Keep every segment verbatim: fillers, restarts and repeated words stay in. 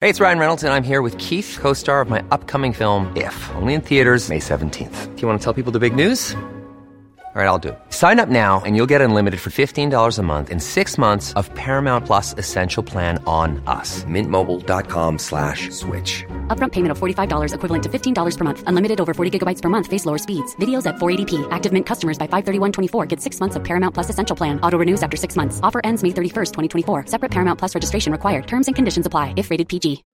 Hey, it's Ryan Reynolds, and I'm here with Keith, co-star of my upcoming film, If, only in theaters May seventeenth. Do you want to tell people the big news? All right, I'll do it. Sign up now and you'll get unlimited for fifteen dollars a month and six months of Paramount Plus Essential Plan on us. Mint Mobile dot com slash switch. Upfront payment of forty-five dollars equivalent to fifteen dollars per month. Unlimited over forty gigabytes per month. Face lower speeds. Videos at four eighty p. Active Mint customers by five thirty-one twenty-four get six months of Paramount Plus Essential Plan. Auto renews after six months. Offer ends May thirty-first, twenty twenty-four. Separate Paramount Plus registration required. Terms and conditions apply if rated P G.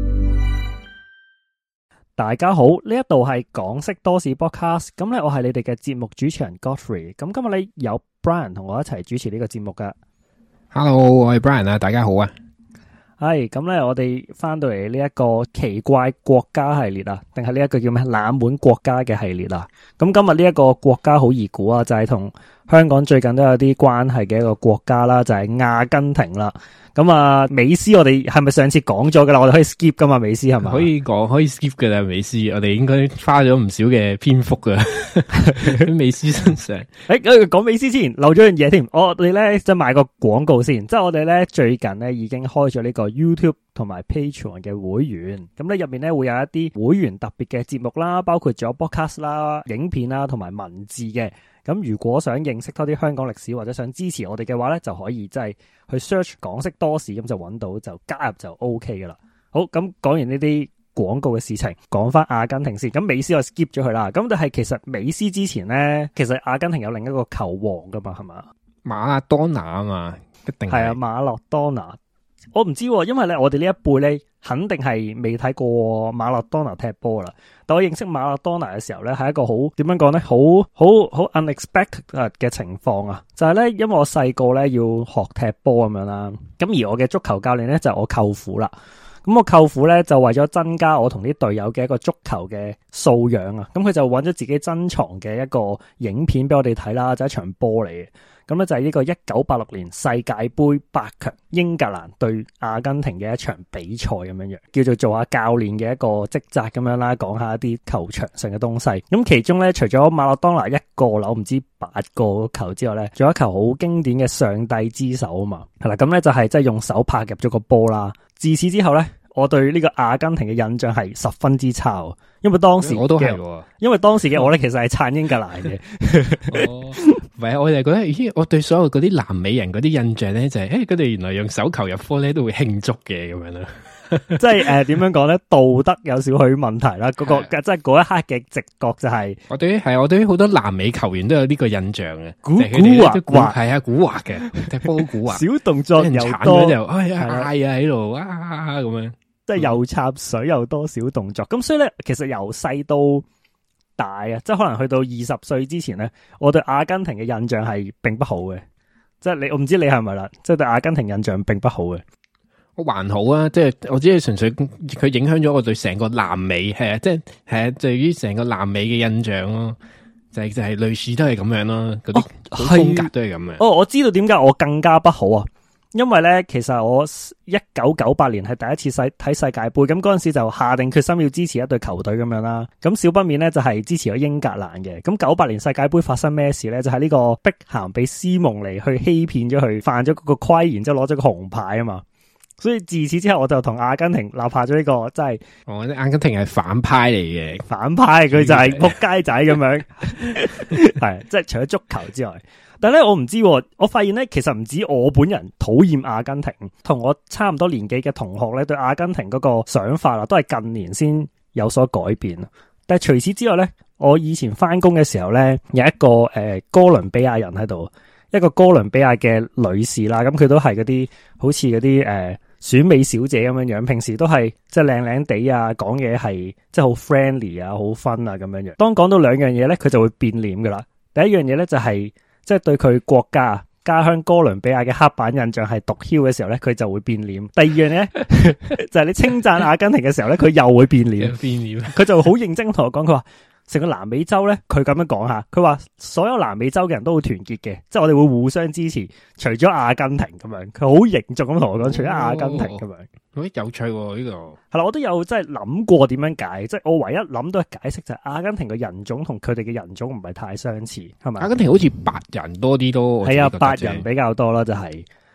大家好，呢一度係港識多史 podcast， 咁咧我係你哋嘅節目主持人 Godfrey， 咁今日咧有 Brian 同我一齊主持呢個節目噶。 Hello， 我係 Brian 啊，大家好啊。 係咁咧，我哋翻到嚟呢一個奇怪國家系列啊，定係呢一個叫咩冷門國家嘅系列啊。咁今日呢一個國家好易估啊，就係、是、同香港最近都有啲關係嘅一個國家啦，就係、是、阿根廷啦。咁啊，美斯我哋係咪上次講咗噶啦？我哋可以 skip 噶嘛？美斯係咪？可以講，可以 skip 噶啦。美斯，我哋應該花咗唔少嘅篇幅噶喺美斯身上。 誒，講美斯之前漏咗樣嘢添，我哋咧即係賣個廣告先。即係我哋咧最近咧已經開咗呢個 YouTube 同埋 Patreon 嘅會員，咁咧入面咧會有一啲會員特別嘅節目啦，包括咗 podcast 啦、影片啦同埋文字嘅。咁如果想認識多啲香港歷史或者想支持我哋嘅話咧，就可以即係去 search 港識多史，咁就揾到就加入就 OK 噶啦。好，咁講完呢啲廣告嘅事情，講翻阿根廷先。咁美斯我 skip 咗佢啦。咁但係其實美斯之前咧，其實阿根廷有另一個球王噶嘛，係嘛？ 馬拉多納啊嘛，一定係。係啊， 馬勒多納。我唔知，因為咧我哋呢一輩咧肯定係未睇過馬勒多納踢波啦。但我認識馬勒多納嘅時候咧，係一個好點樣講咧，好好好 unexpected 嘅情況啊！就係咧，因為我細個咧要學踢波咁樣啦，咁而我嘅足球教練咧就係我舅父啦。咁我舅父咧就為咗增加我同啲隊友嘅一個足球嘅素養啊，咁佢就揾咗自己珍藏嘅一個影片俾我哋睇啦，就係一場波嚟嘅。咁咧就係呢個一九八六年世界盃八強英格蘭對阿根廷嘅一場比賽咁樣樣，叫做做下教練嘅一個職責咁樣啦，講下一啲球場上嘅東西。咁其中咧，除咗馬勒當拿一個扭唔知八個球之外咧，仲有一球好經典嘅上帝之手啊嘛。係啦，咁咧就係即係用手拍入咗個波啦。自此之後咧，我對呢個阿根廷嘅印象係十分之差，因為當時我都係，因為當時嘅我咧其實係撐英格蘭嘅。 哦，唔係，我就覺得，咦，我對所有嗰啲南美人嗰啲印象咧就係、是，誒，佢哋原來用手球入波咧都會慶祝嘅咁樣啦。 即係誒，點樣講咧？道德有少許問題啦。嗰、那個即係嗰一刻嘅直覺就係、是， 我對於係我對於好多南美球員都有呢個印象嘅， 古古惑惑係啊，古惑嘅，踢波好古惑， 小動作又多， 就哎呀嗌啊喺度啊咁樣。 即係又插水又多小動作，咁所以咧，其實由細到大啊，即係可能去到二十歲之前咧，我對阿根廷嘅印象係並不好嘅。即係你，我唔知你係咪啦，即係對阿根廷印象並不好嘅。 我還好啊，即係我只係純粹佢影響咗我對成個南美係啊，即係係啊，對於成個南美嘅印象咯，就係就係類似都係咁樣咯，嗰啲風格都係咁樣。 哦，我知道點解我更加不好啊。因為咧，其實我一九九八年係第一次睇睇世界盃，咁嗰陣時就下定決心要支持一隊球隊咁樣啦。咁少不免咧就係支持咗英格蘭嘅。咁九八年世界盃發生咩事咧？就係、是、呢個碧咸俾斯蒙尼去欺騙咗佢，犯咗嗰個規，然之後攞咗個紅牌啊嘛。所以自此之後，我就同阿根廷立下咗呢、這個，即係我覺得阿根廷係反派嚟嘅， 反派佢就係仆街仔咁樣，係即係除咗足球之外。但係咧，我唔知，我發現咧，其實唔止我本人討厭阿根廷，同我差唔多年紀嘅同學咧，對阿根廷嗰個想法啊，都係近年先有所改變。但係除此之外咧，我以前翻工嘅時候咧，有一個誒、呃、哥倫比亞人喺度，一個哥倫比亞嘅女士啦，咁佢都係嗰啲好似嗰啲誒選美小姐咁樣樣，平時都係即係靚靚地啊，講嘢係即係好 friendly 啊，好 fun 啊咁樣樣。當講到兩樣嘢咧，佢就會變臉噶啦。第一樣嘢咧就係、是。即係對佢國家家鄉哥倫比亞嘅黑板印象係毒梟嘅時候咧，佢就會變臉。第二樣咧就係你稱讚阿根廷嘅時候咧，佢又會變臉。變臉，佢就好認真同我講，佢話成個南美洲咧，佢咁樣講下，佢話所有南美洲嘅人都會團結嘅，即係我哋會互相支持，除咗阿根廷咁樣。佢好凝重咁同我講，除咗阿根廷咁樣。 好有趣喎，呢個係啦，我都有真係諗過點樣解，即係我唯一諗到嘅解釋就係阿根廷嘅人種同佢哋嘅人種唔係太相似，係咪？ 阿根廷好似白人多啲都係啊， 白人比較多啦，就係、是、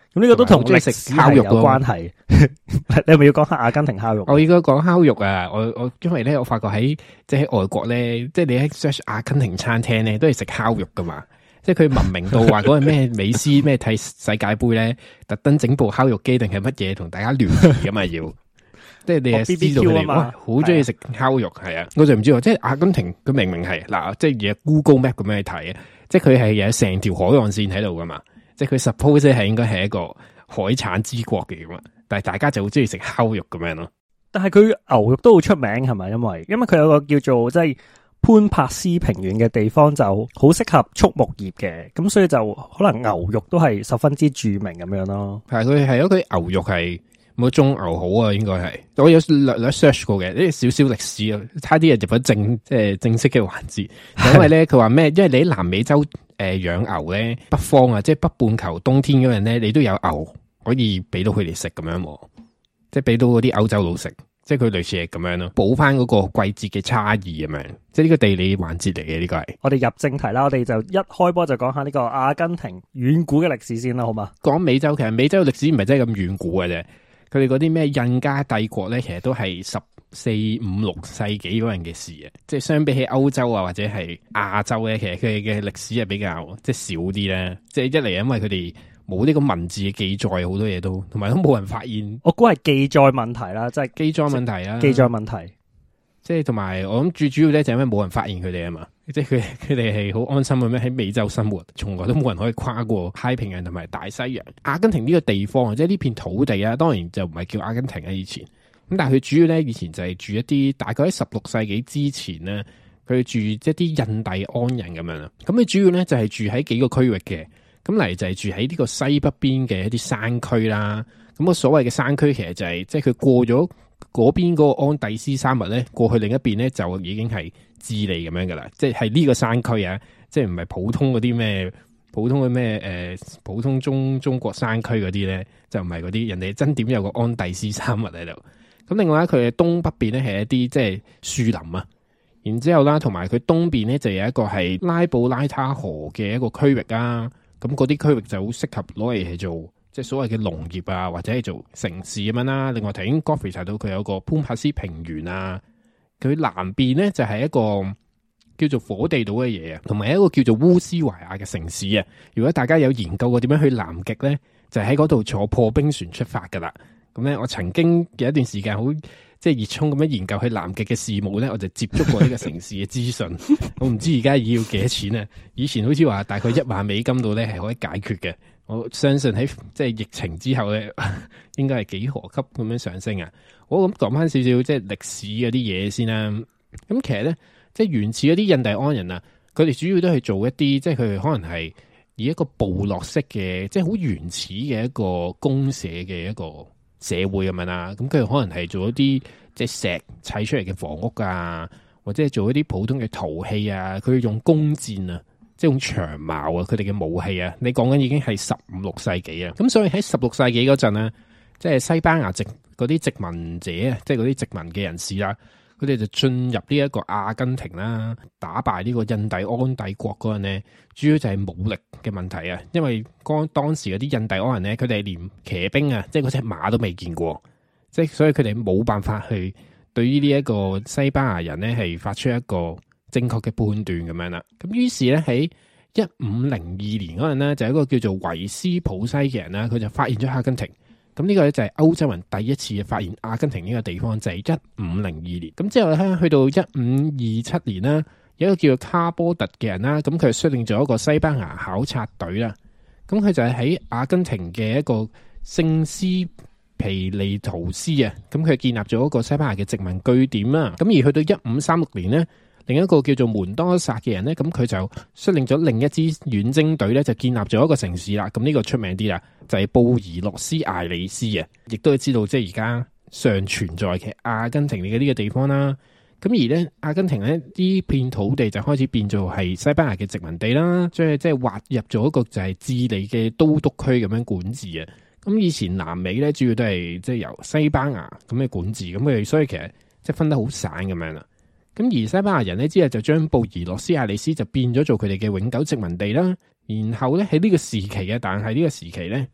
咁呢個都同歷史烤肉有關係。你係咪要講下阿根廷烤肉？ 我應該講烤肉啊！我我因為咧，我發覺喺即係喺外國咧，即係你喺 search 阿根廷餐廳咧，都係食烤肉噶嘛。即係佢文明到話嗰個咩美斯咩睇世界盃咧，特登整部烤肉機定係乜嘢同大家聯誼噶嘛要。即係你係知道佢哋哇，好中意食烤肉係啊！我就唔知喎，即係阿根廷佢明明係嗱，即係而家 Google Map 咁樣去睇啊，即係佢係有成條海岸線喺度噶嘛。即係佢 suppose 係應該係一個海產之國嘅咁啊，但係大家就好中意食烤肉咁樣咯。 但係佢牛肉都好出名係咪？因為因為佢有個叫做即係潘帕斯平原嘅地方就好適合畜牧業嘅，咁所以就可能牛肉都係十分之著名咁樣咯。係佢係一個牛肉係冇種牛好啊，應該係我有略略 search 過嘅，呢啲少少歷史啊，差啲入咗正即係正式嘅環節。因為咧佢話咩？因為你喺南美洲。誒，養、呃、牛咧，北方啊，即係北半球冬天嗰陣咧，你都有牛可以俾到佢哋食咁樣，即係俾到嗰啲歐洲佬食，即係佢類似係咁樣咯，補翻嗰個季節嘅差異咁樣，即係呢個地理環節嚟嘅呢個係。我哋入正題啦，我哋就一開波就講下呢個阿根廷遠古嘅歷史先啦，好嘛？講美洲，其實美洲嘅歷史唔係真係咁遠古嘅啫，佢哋嗰啲咩印加帝國咧，其實都係十四五六世紀嗰陣嘅事啊，即係相比起歐洲啊或者係亞洲咧，其實佢哋嘅歷史係比較即係少啲咧。即係一嚟因為佢哋冇呢個文字嘅記載，好多嘢都同埋都冇人發現。我估係記載問題啦，即係記載問題啊，記載問題。即係同埋我諗最主要咧就係因為冇人發現佢哋啊嘛，即係佢佢哋係好安心咁樣喺美洲生活，從來都冇人可以跨過太平洋同埋大西洋。阿根廷呢個地方即係呢片土地啊，當然就唔係叫阿根廷啊以前。咁但係佢主要咧，以前就係住一啲大概喺十六世紀之前咧，佢住一啲印第安人咁樣啦。咁佢主要咧就係住喺幾個區域嘅。咁嚟就係住喺呢個西北邊嘅一啲山區啦。咁個所謂嘅山區其實就係即係佢過咗嗰邊嗰個安第斯山脈咧，過去另一邊咧就已經係智利咁樣噶啦。即係係呢個山區啊，即係唔係普通嗰啲咩普通嘅咩誒普通中中國山區嗰啲咧，就唔係嗰啲人哋真點有個安第斯山脈喺度。咁另外咧，佢嘅東北邊咧係一啲即係樹林啊，然之後啦，同埋佢東邊咧就有一個係拉布拉他河嘅一個區域啊。咁嗰啲區域就好適合攞嚟係做即係所謂嘅農業啊，或者係做城市咁樣啦。另外頭先 Godfrey 提到佢有個潘帕斯平原啊，佢南邊咧就係一個叫做火地島嘅嘢啊，同埋一個叫做烏斯懷亞嘅城市啊。如果大家有研究過點樣去南極咧，就喺嗰度坐破冰船出發噶啦。咁咧，我曾經有一段時間好即係熱衷咁樣研究去南極嘅事務咧，我就接觸過呢個城市嘅資訊。我唔知而家要幾多錢啊？以前好似話大概一萬美金度咧係可以解決嘅。我相信喺即係疫情之後咧，應該係幾何級咁樣上升啊！我咁講翻少少即係歷史嗰啲嘢先啦。咁其實咧，即係原始嗰啲印第安人啊，佢哋主要都係做一啲即係佢哋可能係以一個部落式嘅，即係好原始嘅一個公社嘅一個社會咁樣啦，咁佢可能係做一啲即係石砌出嚟嘅房屋啊，或者係做一啲普通嘅陶器啊，佢用弓箭啊，即係用長矛啊，佢哋嘅武器啊，你講緊已經係十五六世紀啊，咁所以喺十六世紀嗰陣咧，即係西班牙殖嗰啲殖民者啊，即係嗰啲殖民嘅人士啦，佢哋就進入呢一個阿根廷啦，打敗呢個印第安帝國嗰陣咧，主要就係武力嘅問題啊，因為當當時嗰啲印第安人咧，佢哋連騎兵啊，即係嗰隻馬都未見過，即係所以佢哋冇辦法去對於呢一個西班牙人咧係發出一個正確嘅判斷咁樣啦。咁於是咧喺一五零二年嗰陣咧，就有一個叫做維斯普西嘅人啦，佢就發現咗阿根廷。咁呢個咧就係歐洲人第一次發現阿根廷呢個地方，就係一五零二年。咁之後咧去到一五二七年啦，有一個叫做卡波特嘅人啦，咁佢率領咗一個西班牙考察隊啦。咁佢就係喺阿根廷嘅一個聖斯皮利圖斯啊，咁佢建立咗一個西班牙嘅殖民據點啦。咁而去到一五三六年呢，另一個叫做門多薩嘅人呢，咁佢就率領咗另一支遠征隊咧，就建立咗一個城市啦。咁呢個出名啲啦，就係布宜諾斯艾利斯啊，亦都係知道即係而家尚存在嘅阿根廷嘅呢個地方啦。咁而咧，阿根廷咧呢片土地就開始變做係西班牙嘅殖民地啦，即係即係劃入咗一個就係智利嘅都督區咁樣管治啊。咁以前南美咧主要都係即係由西班牙咁嘅管治，咁佢哋所以其實即係分得好散咁樣啦。咁而西班牙人咧之後就將布宜諾斯艾利斯就變咗做佢哋嘅永久殖民地啦。然後咧喺呢個時期嘅，但係呢個時期咧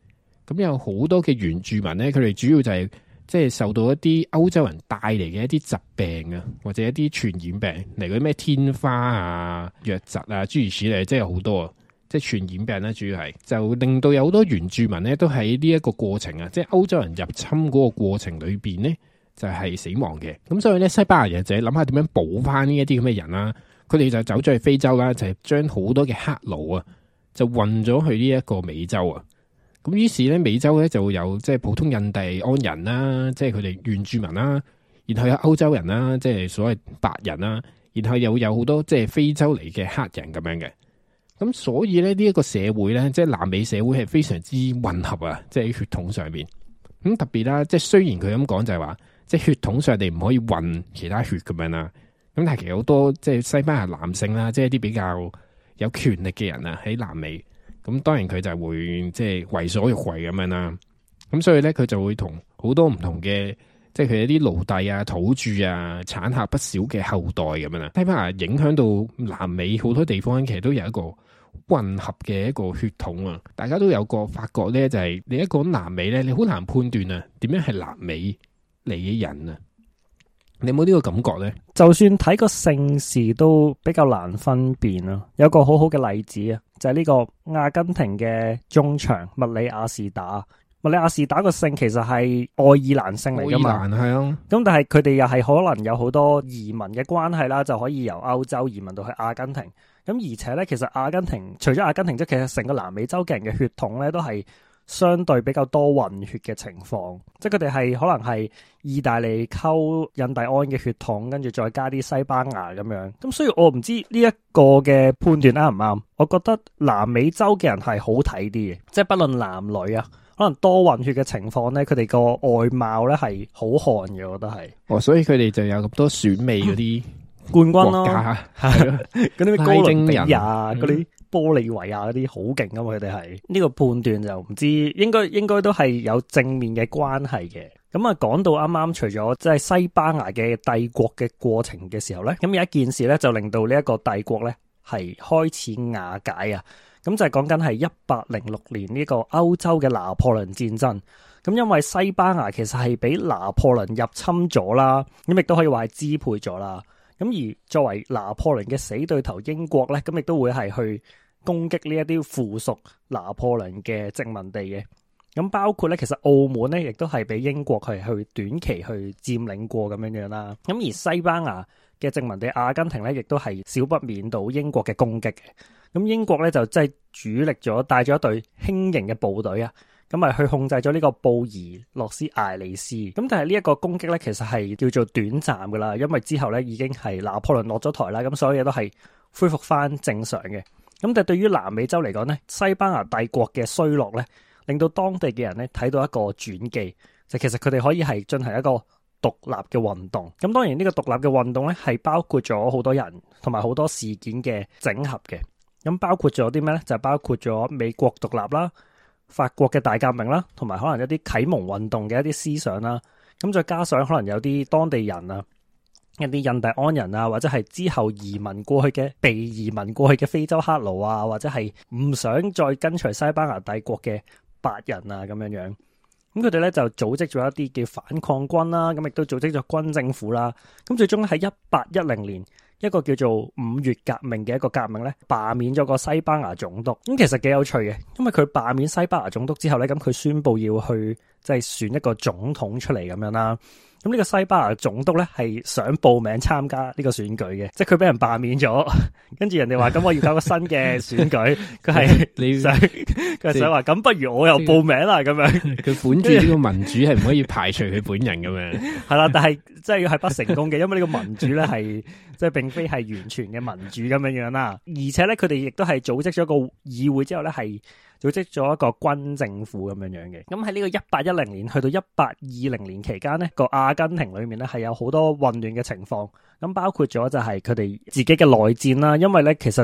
咁有好多嘅原住民咧，佢哋主要就係即係受到一啲歐洲人帶嚟嘅一啲疾病啊，或者一啲傳染病，例如嗰啲咩天花啊、瘧疾啊諸如此類，即係好多啊，即係傳染病咧，主要係就令到有好多原住民咧都喺呢一個過程啊，即係歐洲人入侵嗰個過程裏邊咧就係死亡嘅。咁所以咧，西班牙人就諗下點樣補翻呢一啲咁嘅人啦。佢哋就走咗去非洲啦，就係將好多嘅黑奴啊，就運咗去呢一個美洲啊。咁於是咧，美洲咧就會有即係普通印第安人啦，即係佢哋原住民啦，然後有歐洲人啦，即係所謂白人啦，然後又有好多即係非洲嚟嘅黑人咁樣嘅。咁所以咧，呢一個社會咧，即係南美社會係非常之混合啊，即係喺血統上面。咁特別啦，即係雖然佢咁講就係話，即係血統上你唔可以混其他血咁樣啦。咁但係其實好多即係西班牙男性啦，即係一啲比較有權力嘅人啊，喺南美，咁當然佢就會即係為所欲為咁樣啦。咁所以咧，佢就會同好多唔同嘅，即係佢一啲奴隸啊、土著啊，產下不少嘅後代咁樣啦。西班牙影響到南美好多地方，其實都有一個混合嘅一個血統啊。大家都有個發覺咧，就係、是、你一講南美咧，你好難判斷啊，點樣係南美嚟嘅人啊？你有冇呢個感覺咧？ 就算睇個姓氏都比較難分辨咯。有個好好嘅例子啊，就係、是、呢個阿根廷嘅中場麥里亞士打。麥里亞士打個姓其實係愛爾蘭姓嚟噶嘛？愛爾蘭係啊。咁但係佢哋又係可能有好多移民嘅關係啦，就可以由歐洲移民到去阿根廷。咁而且咧，其實阿根廷除咗阿根廷，即係其實成個南美洲嘅人嘅血統咧，都係相對比較多混血嘅情況，即係佢哋係可能係意大利溝印第安嘅血統，跟住再加啲西班牙咁樣。咁所以我唔知呢一個嘅判斷啱唔啱。我覺得南美洲嘅人係好睇啲嘅，即係不論男女啊，可能多混血嘅情況咧，佢哋個外貌咧係好看嘅，我覺得係。哦， 所以佢哋就有咁多選美嗰啲冠軍咯， 係咯， 嗰啲咩哥倫比亞嗰啲。玻利維亞嗰啲好勁噶嘛，佢哋係呢個判斷就唔知，應該應該都係有正面嘅關係嘅。咁啊，講到啱啱除咗即係西班牙嘅帝國嘅過程嘅時候咧，咁有一件事咧就令到呢一個帝國咧係開始瓦解啊。咁就係講緊係一八零六年呢個歐洲嘅拿破崙戰爭。咁因為西班牙其實係俾拿破崙入侵咗啦，咁亦都可以話係支配咗啦。咁而作為拿破崙嘅死對頭英國咧，咁亦都會係去攻擊呢一啲附屬拿破崙嘅殖民地嘅。咁包括咧，其實澳門咧，亦都係俾英國係去短期去佔領過咁樣樣啦。咁而西班牙嘅殖民地阿根廷咧，亦都係少不免到英國嘅攻擊嘅。咁英國咧就即係主力咗帶咗一隊輕型嘅部隊啊，咁咪去控制咗呢個布宜諾斯艾利斯。咁但係呢一個攻擊咧，其實係叫做短暫噶啦，因為之後咧已經係拿破崙落咗台啦，咁所有嘢都係恢復翻正常嘅。咁但係對於南美洲嚟講咧，西班牙帝國嘅衰落咧，令到當地嘅人咧睇到一個轉機，就其實佢哋可以係進行一個獨立嘅運動。咁當然呢個獨立嘅運動咧，係包括咗好多人同埋好多事件嘅整合嘅。咁包括咗啲咩咧？就包括咗美國獨立啦、法國嘅大革命啦，同埋可能一啲啟蒙運動嘅一啲思想啦。咁再加上可能有啲當地人啊，一啲印第安人啊，或者係之後移民過去嘅被移民過去嘅非洲黑奴啊，或者係唔想再跟隨西班牙帝國嘅白人啊咁樣樣。咁佢哋咧就組織咗一啲叫反抗軍啦，咁亦都組織咗軍政府啦。咁最終喺一八一零年，一個叫做五月革命嘅一個革命咧，罷免咗個西班牙總督。咁其實幾有趣嘅，因為佢罷免西班牙總督之後咧，咁佢宣布要去即係選一個總統出嚟咁樣啦。咁呢個西班牙總督咧係想報名參加呢個選舉嘅，即係佢俾人罷免咗，跟住人哋話咁我要搞個新嘅選舉，佢係你想佢係想話咁不如我又報名啦咁樣。佢本住呢個民主係唔可以排除佢本人咁樣， 係啦，但係即係係不成功嘅，因為呢個民主咧係即係並非係完全嘅民主咁樣樣啦，而且咧佢哋亦都係組織咗個議會之後咧係組織咗一個軍政府咁樣樣嘅。咁喺呢個一八一零年去到一八二零年期間呢，個阿根廷裏面咧係有好多混亂嘅情況。咁包括咗就係佢哋自己嘅內戰啦，因為咧其實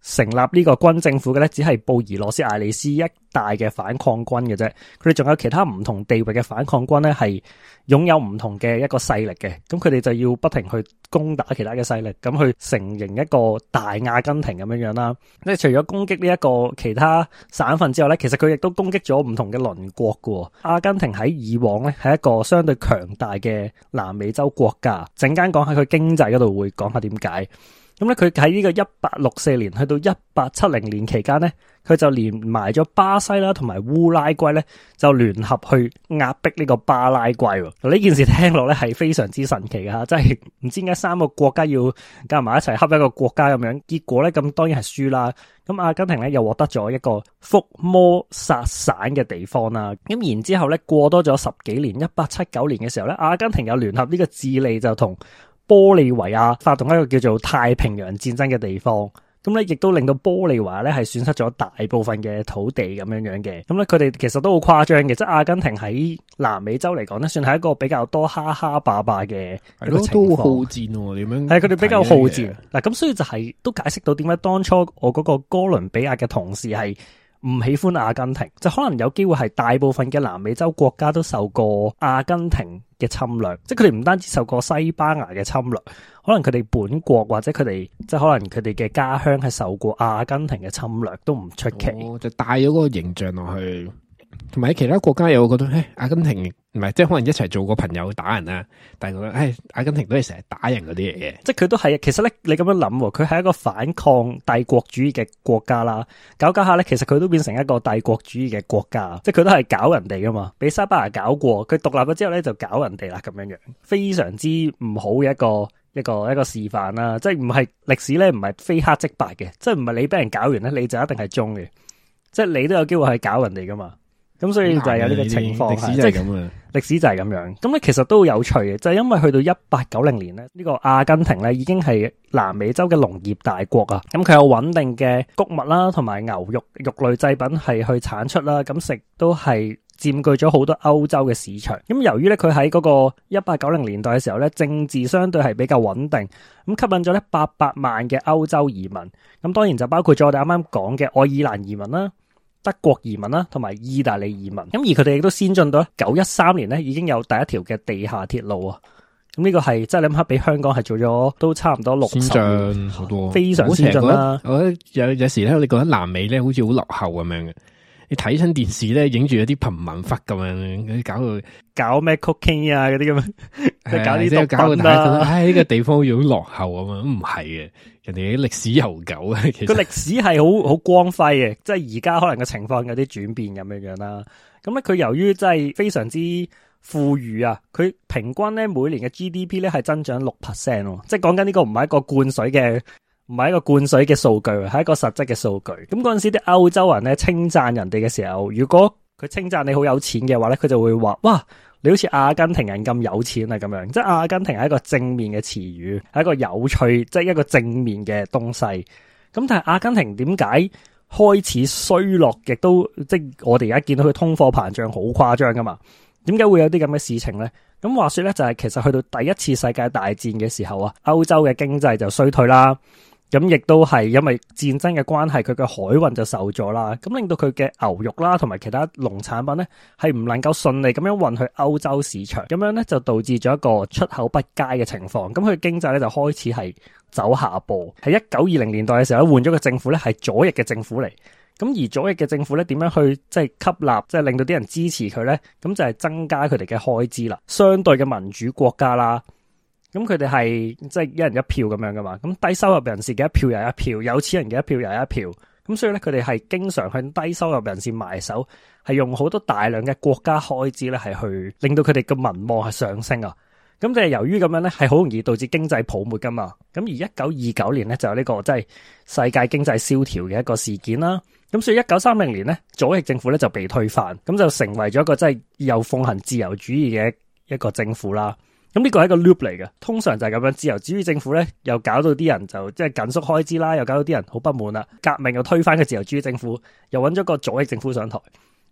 成立呢個軍政府嘅咧，只係布宜諾斯艾利斯一帶嘅反抗軍嘅啫。佢哋仲有其他唔同地域嘅反抗軍咧，係擁有唔同嘅一個勢力嘅。咁佢哋就要不停去攻打其他嘅勢力，咁去成形一個大阿根廷咁樣樣啦。即係除咗攻擊呢一個其他省份之外咧，其實佢亦都攻擊咗唔同嘅鄰國嘅。阿根廷喺以往咧係一個相對強大嘅南美洲國家。陣間講下佢經濟嗰度會講下點解。咁咧，佢喺呢個一八六四年去到一八七零年期間咧，佢就連埋咗巴西啦同埋烏拉圭咧，就聯合去壓迫呢個巴拉圭。呢件事聽落咧係非常之神奇嘅吓，即係唔知點解三個國家要夾埋一齊恰一個國家咁樣，結果咧咁當然係輸啦。咁阿根廷咧又獲得咗一個福摩薩省嘅地方啦。咁然之後咧過多咗十幾年，一八七九年嘅時候咧，阿根廷又聯合呢個智利就同玻利維亞發動一個叫做太平洋戰爭嘅地方，咁咧亦都令到玻利維亞咧係損失咗大部分嘅土地咁樣樣嘅。咁咧佢哋其實都好誇張嘅，即係阿根廷喺南美洲嚟講咧，算係一個比較多蝦蝦霸霸嘅一個情況。都好戰喎，點樣？係佢哋比較好戰嗱，咁所以就係、是、都解釋到點解當初我嗰個哥倫比亞嘅同事係唔喜歡阿根廷，就可能有機會係大部分嘅南美洲國家都受過阿根廷嘅侵略，即係佢哋唔單止受過西班牙嘅侵略，可能佢哋本國或者佢哋即係可能佢哋嘅家鄉係受過阿根廷嘅侵略都唔出奇。 哦，就帶咗嗰個形象落去。同埋喺其他國家又覺得，誒，阿根廷唔係即係可能一齊做個朋友打人啊，但係覺得，誒，阿根廷都係成日打人嗰啲嘢嘅， 即係佢都係。其實咧，你咁樣諗，佢係一個反抗帝國主義嘅國家啦，搞搞下咧，其實佢都變成一個帝國主義嘅國家，即係佢都係搞人哋噶嘛，俾西班牙搞過，佢獨立咗之後咧就搞人哋啦，咁樣樣，非常之唔好嘅一個一個一個示範啦。即係唔係歷史咧，唔係非黑即白嘅，即係唔係你俾人搞完咧，你就一定係忠嘅，即係你都有機會係搞人哋噶嘛。咁所以就係有呢個情況， 歷史就係咁啊！ 歷史就係咁樣。咁咧其實都好有趣嘅，就係、是、因為去到一八九零年咧，呢、這個阿根廷咧已經係南美洲嘅農業大國啊。咁佢有穩定嘅穀物啦，同埋牛肉肉類製品係去產出啦。咁食都係佔據咗好多歐洲嘅市場。咁由於咧佢喺嗰個一八九零年代嘅時候咧，政治相對係比較穩定，咁吸引咗咧八百萬嘅歐洲移民。咁當然就包括咗我哋啱啱講嘅愛爾蘭移民啦、德國移民啦，同埋意大利移民，咁而佢哋亦都先進到一九一三年咧，已經有第一條嘅地下鐵路啊！咁呢個係即係你諗下，比香港係做咗都差唔多六十年，先進好多，非常先進啦。 我覺得有有時咧，你覺得南美咧好似好落後咁樣嘅。你睇親電視咧，影住一啲貧民窟咁樣，嗰啲搞到搞咩 cooking 啊嗰啲咁樣，即係搞啲毒品啦。唉，呢個地方好似好落後啊嘛，唔係嘅，人哋啲歷史悠久啊。其實個歷史係好好光輝嘅，即係而家可能個情況有啲轉變咁樣樣啦。咁咧，佢由於真係非常之富裕啊，佢平均咧每年嘅 G D P 咧係增長六 percent， 即係講緊呢個唔係一個灌水嘅。唔係一個灌水嘅數據，係一個實質嘅數據。咁嗰陣時啲歐洲人咧稱讚人哋嘅時候，如果佢稱讚你好有錢嘅話咧，佢就會話：哇，你好似阿根廷人咁有錢啊！咁樣，即係阿根廷係一個正面嘅詞語，係一個有趣，即係一個正面嘅東西。咁但係阿根廷點解開始衰落，亦都即係我哋而家見到佢通貨膨脹好誇張噶嘛？點解會有啲咁嘅事情咧？咁話說咧，就係其實去到第一次世界大戰嘅時候啊，歐洲嘅經濟就衰退啦。咁亦都係因為戰爭嘅關係，佢嘅海運就受咗啦，咁令到佢嘅牛肉啦同埋其他農產品咧係唔能夠順利咁樣運去歐洲市場，咁樣咧就導致咗一個出口不佳嘅情況，咁佢經濟咧就開始係走下坡。喺一九二零年代嘅時候，換咗個政府咧係左翼嘅政府嚟，咁而左翼嘅政府咧點樣去即係吸納，即係令到啲人支持佢咧？咁就係增加佢哋嘅開支啦。相對嘅民主國家啦。咁佢哋係即係一人一票咁樣噶嘛，咁低收入人士嘅一票又一票，有錢人嘅一票又一票，咁所以咧佢哋係經常向低收入人士埋手，係用好多大量嘅國家開支咧係去令到佢哋嘅民望係上升啊。咁就係由於咁樣咧係好容易導致經濟泡沫噶嘛。咁而一九二九年咧就有呢個即係世界經濟蕭條嘅一個事件啦。咁所以一九三零年咧左翼政府咧就被推翻，咁就成為咗一個即係又奉行自由主義嘅一個政府啦。咁呢個係一個 loop 嚟嘅，通常就係咁樣，自由主義政府咧，又搞到啲人就即係緊縮開支啦，又搞到啲人好不滿啦，革命又推翻個自由主義政府，又揾咗個左翼政府上台，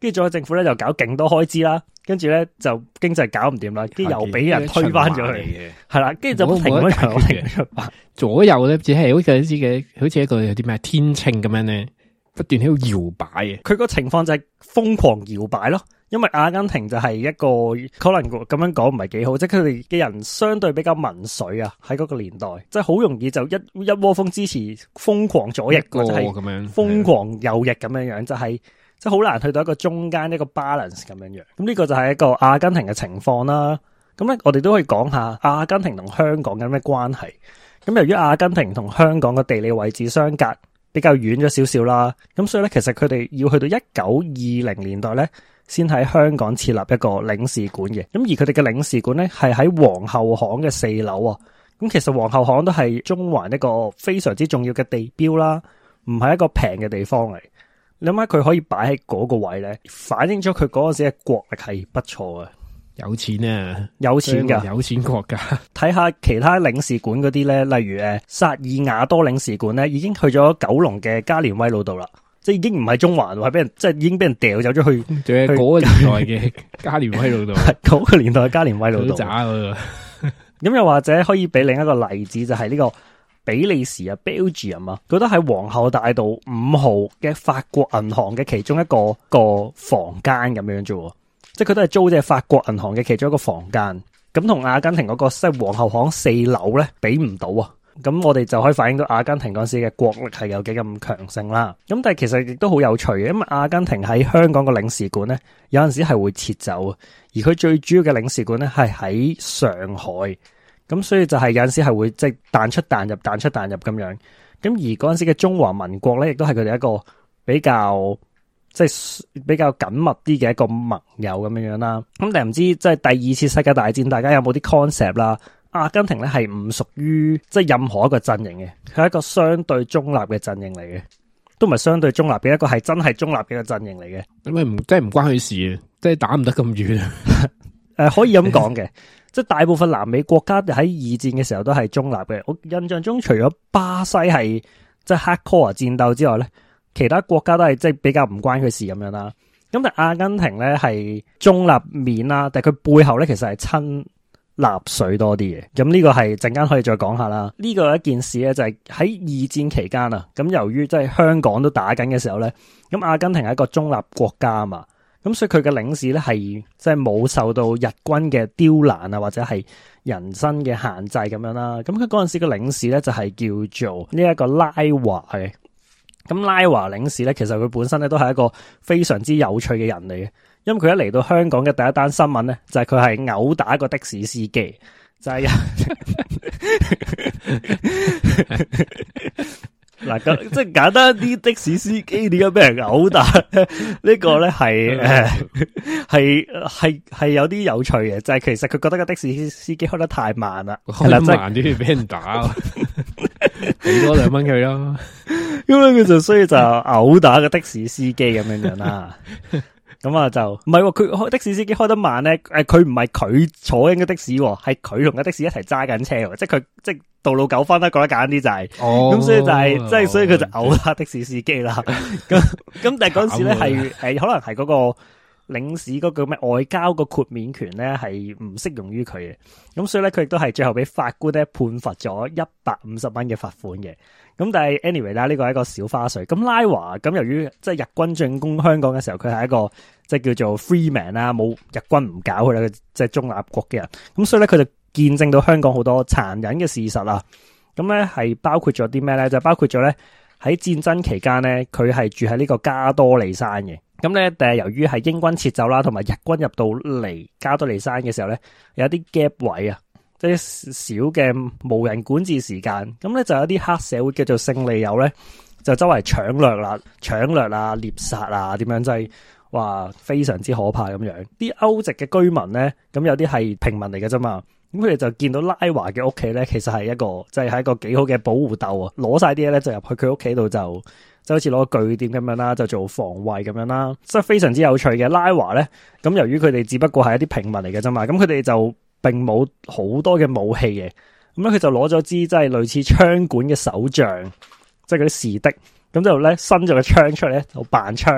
跟住佐賀政府咧就搞勁多開支啦，跟住咧就經濟搞唔掂啦，跟住又俾人推翻咗去，係啦，跟住就不停咁樣左右咧，只係好似一啲嘅，好似一個有啲咩天秤咁樣咧，不斷喺度搖擺嘅。佢個情況就係瘋狂搖擺咯。因為阿根廷就係一個可能咁樣講唔係幾好，即係佢哋嘅人相對比較民粹啊，喺嗰個年代，即係好容易就一一窩蜂支持瘋狂左翼或者係瘋狂右翼咁樣樣，就係即係好難去到一個中間一個 balance 咁樣樣。咁呢個就係一個阿根廷嘅情況啦。咁咧我哋都可以講下阿根廷同香港有咩關係。咁由於阿根廷同香港嘅地理位置相隔比較遠咗少少啦，咁所以咧其實佢哋要去到一九二零年代咧，先喺香港設立一個領事館嘅，咁而佢哋嘅領事館咧係喺皇后巷嘅四樓啊。咁其實皇后巷都係中環一個非常之重要嘅地標啦，唔係一個平嘅地方嚟。你諗下佢可以擺喺嗰個位咧，反映咗佢嗰陣時嘅國力係不錯嘅， 有錢啊， 有錢噶， 有錢國家。 睇下其他領事館嗰啲咧，例如誒薩爾瓦多領事館咧，已經去咗九龍嘅加連威老道啦。即係已經唔係中環，係俾人即係已經俾人掉走咗去。仲係嗰個年代嘅加連威老道，嗰個年代嘅加連威老道。渣嗰咁又或者可以俾另一個例子，就係、是、呢個比利時啊 Belgium 啊，佢都喺皇后大道五號嘅法國銀行嘅其中一個一個房間咁樣啫。即係佢都係租借法國銀行嘅其中一個房間。咁同阿根廷嗰、那個即係皇后巷四樓咧比唔到啊。咁我哋就可以反映到阿根廷嗰時嘅國力係有幾咁強盛啦。咁但係其實亦都好有趣嘅，因為阿根廷喺香港嘅領事館咧，有陣時係會撤走，而佢最主要嘅領事館咧係喺上海。咁所以就係有陣時係會即係彈出彈入、彈出彈入咁樣。咁而嗰陣時嘅中華民國咧，亦都係佢哋一個比較即係比較緊密啲嘅一個盟友咁樣樣啦。咁但係唔知即係第二次世界大戰，大家有冇啲 concept 啦？阿根廷咧係唔屬於即係任何一個陣營嘅，佢係一個相對中立嘅陣營嚟嘅，都唔係相對中立嘅一個係真係中立嘅一個陣營嚟嘅。咁咪唔即係唔關佢事啊，即係打唔得咁遠啊。誒，可以咁講嘅，即係大部分南美國家喺二戰嘅時候都係中立嘅。我印象中除咗巴西係即係 hardcore 戰鬥之外咧，其他國家都係即係比較唔關佢事咁樣啦。咁但係阿根廷咧係中立面啦，但係佢背後咧其實係親納粹多啲嘅，咁呢個係陣間可以再講下啦。呢個一件事咧就係喺二戰期間啊，咁由於即係香港都打緊嘅時候咧，咁阿根廷係一個中立國家啊嘛，咁所以佢嘅領事咧係即係冇受到日軍嘅刁難啊，或者係人身嘅限制咁樣啦。咁佢嗰陣時嘅領事咧就係叫做呢一個拉華嘅。咁拉華領事咧，其實佢本身咧都係一個非常之有趣嘅人嚟嘅。因為佢一嚟到香港嘅第一單新聞咧，就係佢係毆打一個的士司機，就係嗱咁即係簡單啲，的士司機點解俾人毆打呢？呢個咧係誒係係係有啲有趣嘅，就係、是、其實佢覺得個的士司機開得太慢啦，開得慢啲俾人打，俾多兩蚊佢咯。咁咧佢就所以就毆打個的士司機咁樣樣啦。咁啊就唔係喎，佢開的士司機開得慢咧，誒佢唔係佢坐緊嘅的士，係佢同個的士一齊揸緊車，即係佢即係道路糾紛啦，講得簡單啲就係、是，咁、哦、所以就係、是、即係所以佢就毆打的士司機啦。咁咁但係嗰時咧係誒可能係嗰個領事嗰個咩外交個豁免權咧係唔適用於佢嘅，咁所以咧佢亦都係最後俾法官咧判罰咗一百五十蚊嘅罰款嘅。咁但係 anyway 啦，呢個係一個小花絮。咁拉華咁由於即係日軍進攻香港嘅時候，佢係一個即係叫做 free man 啦，冇日軍唔搞佢啦，即係中立國嘅人。咁所以咧佢就見證到香港好多殘忍嘅事實啦。咁咧係包括咗啲咩咧？就包括咗咧喺戰爭期間咧，佢係住喺呢個加多利山嘅。咁咧，但係由於係英軍撤走啦，同埋日軍入到嚟加多利山嘅時候咧，有啲 gap 位啊。即係少嘅無人管治時間，咁咧就有啲黑社會叫做勝利友咧，就周圍搶掠啦、搶掠啊、獵殺啊，點樣即係話非常之可怕咁樣。啲歐籍嘅居民咧，咁有啲係平民嚟嘅啫嘛，咁佢哋就見到拉華嘅屋企咧，其實係一個即係係一個幾好嘅保護竇啊，攞晒啲嘢咧就入去佢屋企度就就好似攞個據點咁樣啦，就做防衛咁樣啦，即係非常之有趣嘅。拉華咧，咁由於佢哋只不過係一啲平民嚟嘅啫嘛，咁佢哋就並冇好多嘅武器嘅，咁咧佢就攞咗支即係類似槍管嘅手杖，即係嗰啲士的，咁就咧伸咗個槍出嚟咧，就扮槍，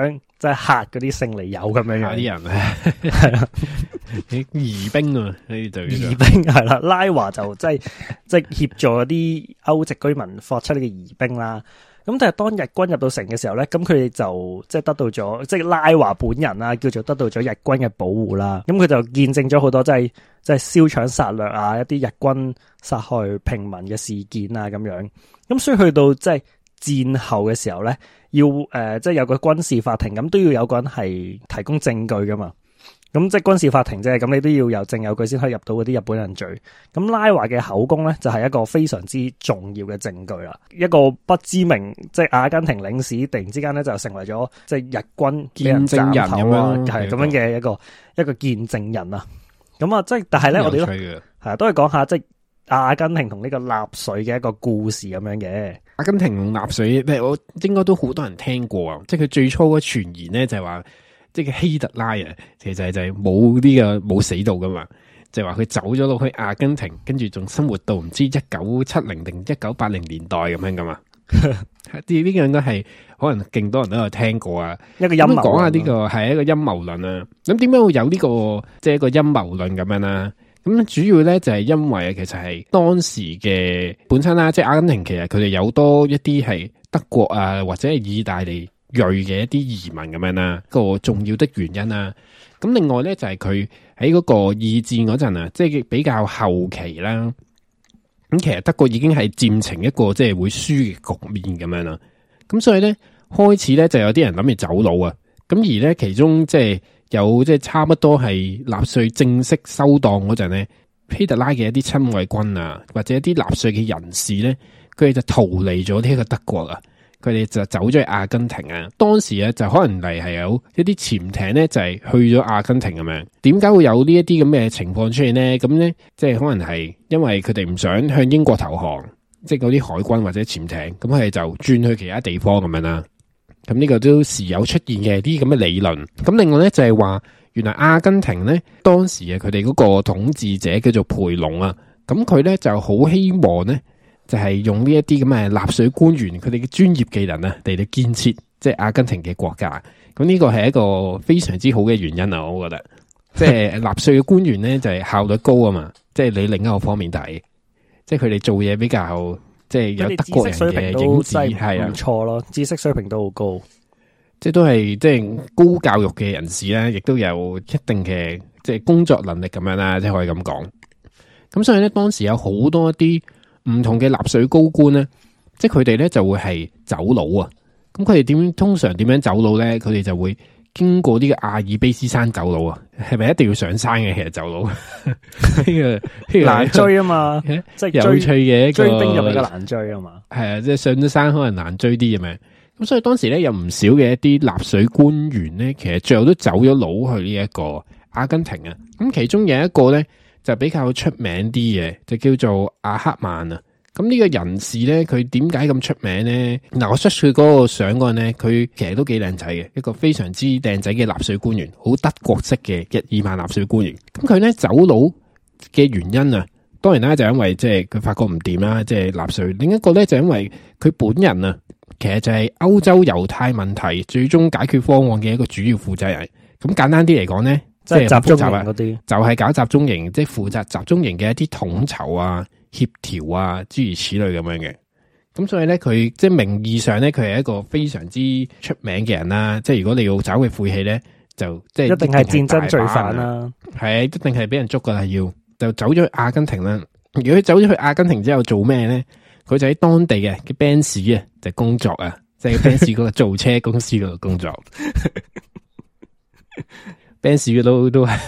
即係嚇嗰啲勝利友咁樣樣啲人咧，係啦，疑兵啊，呢啲就疑兵係啦，拉華就即係即係協助啲歐籍居民發出呢個疑兵啦。咁但係當日軍入到城嘅時候咧，咁佢哋就即係得到咗，即係拉華本人啊，叫做得到咗日軍嘅保護啦。咁佢就見證咗好多即係即係燒搶殺掠啊，一啲日軍殺害平民嘅事件啊咁樣。咁所以去到即係戰後嘅時候咧，要誒、呃、即係有個軍事法庭，咁都要有個人係提供證據噶嘛。咁即係軍事法庭啫，咁你都要有證有據先可以入到嗰啲日本人罪。咁拉華嘅口供咧，就係一個非常之重要嘅證據啦。一個不知名即係阿根廷領事，突然之間咧就成為咗即係日軍見證人咁樣， 係咁樣嘅一個一個見證人啊。咁啊，即係但係咧，我哋都係啊，都係講下即係阿根廷同呢個納粹嘅一個故事咁樣嘅。 阿根廷同納粹咧，我應該都好多人聽過啊。即係佢最初嘅傳言咧，就係話。即係希特拉啊，其實就係冇呢個冇死到噶嘛，就係話佢走咗落去阿根廷，跟住仲生活到唔知一九七零定一九八零年代咁樣噶嘛。呢呢個應該係可能勁多人都有聽過啊。一個陰謀論，講下呢個係一個陰謀論啊。咁點解會有呢個即係一個陰謀論咁樣啦？咁主要咧就係因為其實係當時嘅本身啦，即係阿根廷其實佢哋有多一啲係德國啊或者係意大利裔嘅一啲移民咁樣啦，個重要的原因啦。咁另外咧就係佢喺嗰個二戰嗰陣啊，即係比較後期啦。咁其實德國已經係漸成一個即係會輸嘅局面咁樣啦。咁所以咧開始咧就有啲人諗住走佬啊。咁而咧其中即係有即係差唔多係納粹正式收檔嗰陣咧，希特拉嘅一啲親衛軍啊，或者一啲納粹嘅人士咧，佢哋就逃離咗呢一個德國啊。佢哋就走咗去阿根廷啊！當時咧就可能嚟係有一啲潛艇咧，就係去咗阿根廷咁樣。點解會有呢一啲咁嘅情況出現咧？咁咧即係可能係因為佢哋唔想向英國投降，即係嗰啲海軍或者潛艇，咁佢哋就轉去其他地方咁樣啦。咁呢個都時有出現嘅啲咁嘅理論。咁另外咧就係話，原來阿根廷咧當時啊，佢哋嗰個統治者叫做培龍啊，咁佢咧就好希望咧。就係用呢一啲咁嘅納粹官員佢哋嘅專業技能啊，嚟到建設即係阿根廷嘅國家。咁呢個係一個非常之好嘅原因啊，我覺得。即係納粹嘅官員咧就係效率高啊嘛。即係你另一個方面睇，即係佢哋做嘢比較即係有德國人嘅影子，係啊，唔錯咯，知識水平都好高。即係都係即係高教育嘅人士咧，亦都有一定嘅即係工作能力咁樣啦，即係可以咁講。咁所以咧，當時有好多一啲。唔同嘅納粹高官咧，即係佢哋咧就會係走佬啊！咁佢哋點通常點樣走佬咧？佢哋就會經過呢個阿爾卑斯山走佬啊！係咪一定要上山嘅？其實走佬呢個難追啊嘛，即係有趣嘅一個追兵入比較難追啊嘛。係啊，即係上咗山可能難追啲咁樣。咁所以當時咧有唔少嘅一啲納粹官員咧，其實最後都走咗佬去呢一個阿根廷啊。咁其中有一個咧。就比較出名啲嘅，就叫做阿克曼啊。咁呢個人士咧，佢點解咁出名咧？嗱，我出佢嗰個相嗰陣咧，佢其實都幾靚仔嘅，一個非常之靚仔嘅納粹官員，好德國式嘅日耳曼納粹官員。咁佢咧走佬嘅原因啊，當然啦，就因為即係佢發覺唔掂啦，即係納粹。另一個咧就因為佢本人啊，其實就係歐洲猶太問題最終解決方案嘅一個主要負責人。咁簡單啲嚟講咧。即係集中營嗰啲，就係搞集中營，即係負責集中營嘅一啲統籌啊、協調啊，諸如此類咁樣嘅。咁所以咧，佢即係名義上咧，佢係一個非常之出名嘅人啦。即係如果你要找佢晦氣咧，就即係一定係戰爭罪犯啦。係，一定係俾人捉噶啦，要就走咗去阿根廷啦。如果佢走咗去阿根廷之後做咩咧？佢就喺當地嘅嘅 Benz 啊，就工作啊，即係 Benz 嗰個造車公司嗰度工作。Benz 嘅都都係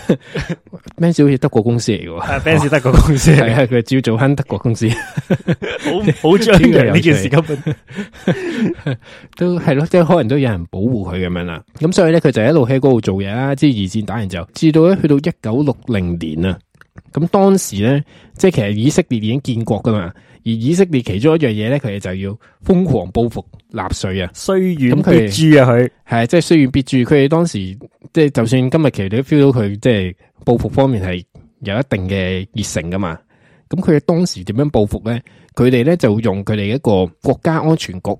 Benz 好似德國公司嚟嘅喎，Benz 德國公司係啊，佢照做翻德國公司，好好張揚呢件事根本都係咯，即係可能都有人保護佢咁樣啦。咁所以咧，佢就一路喺嗰度做嘢啦。即係二戰打完之後，至到咧去到一九六零年啊。咁當時咧，即係其實以色列已經建國噶嘛，而以色列其中一樣嘢咧，佢哋就要瘋狂報復納粹啊，雖遠必誅啊，佢係即係雖遠必誅。佢哋當時即係就算今日其實你都 feel 到佢即係報復方面係有一定嘅熱誠噶嘛。咁佢哋當時點樣報復咧？佢哋咧就用佢哋一個國家安全局啊，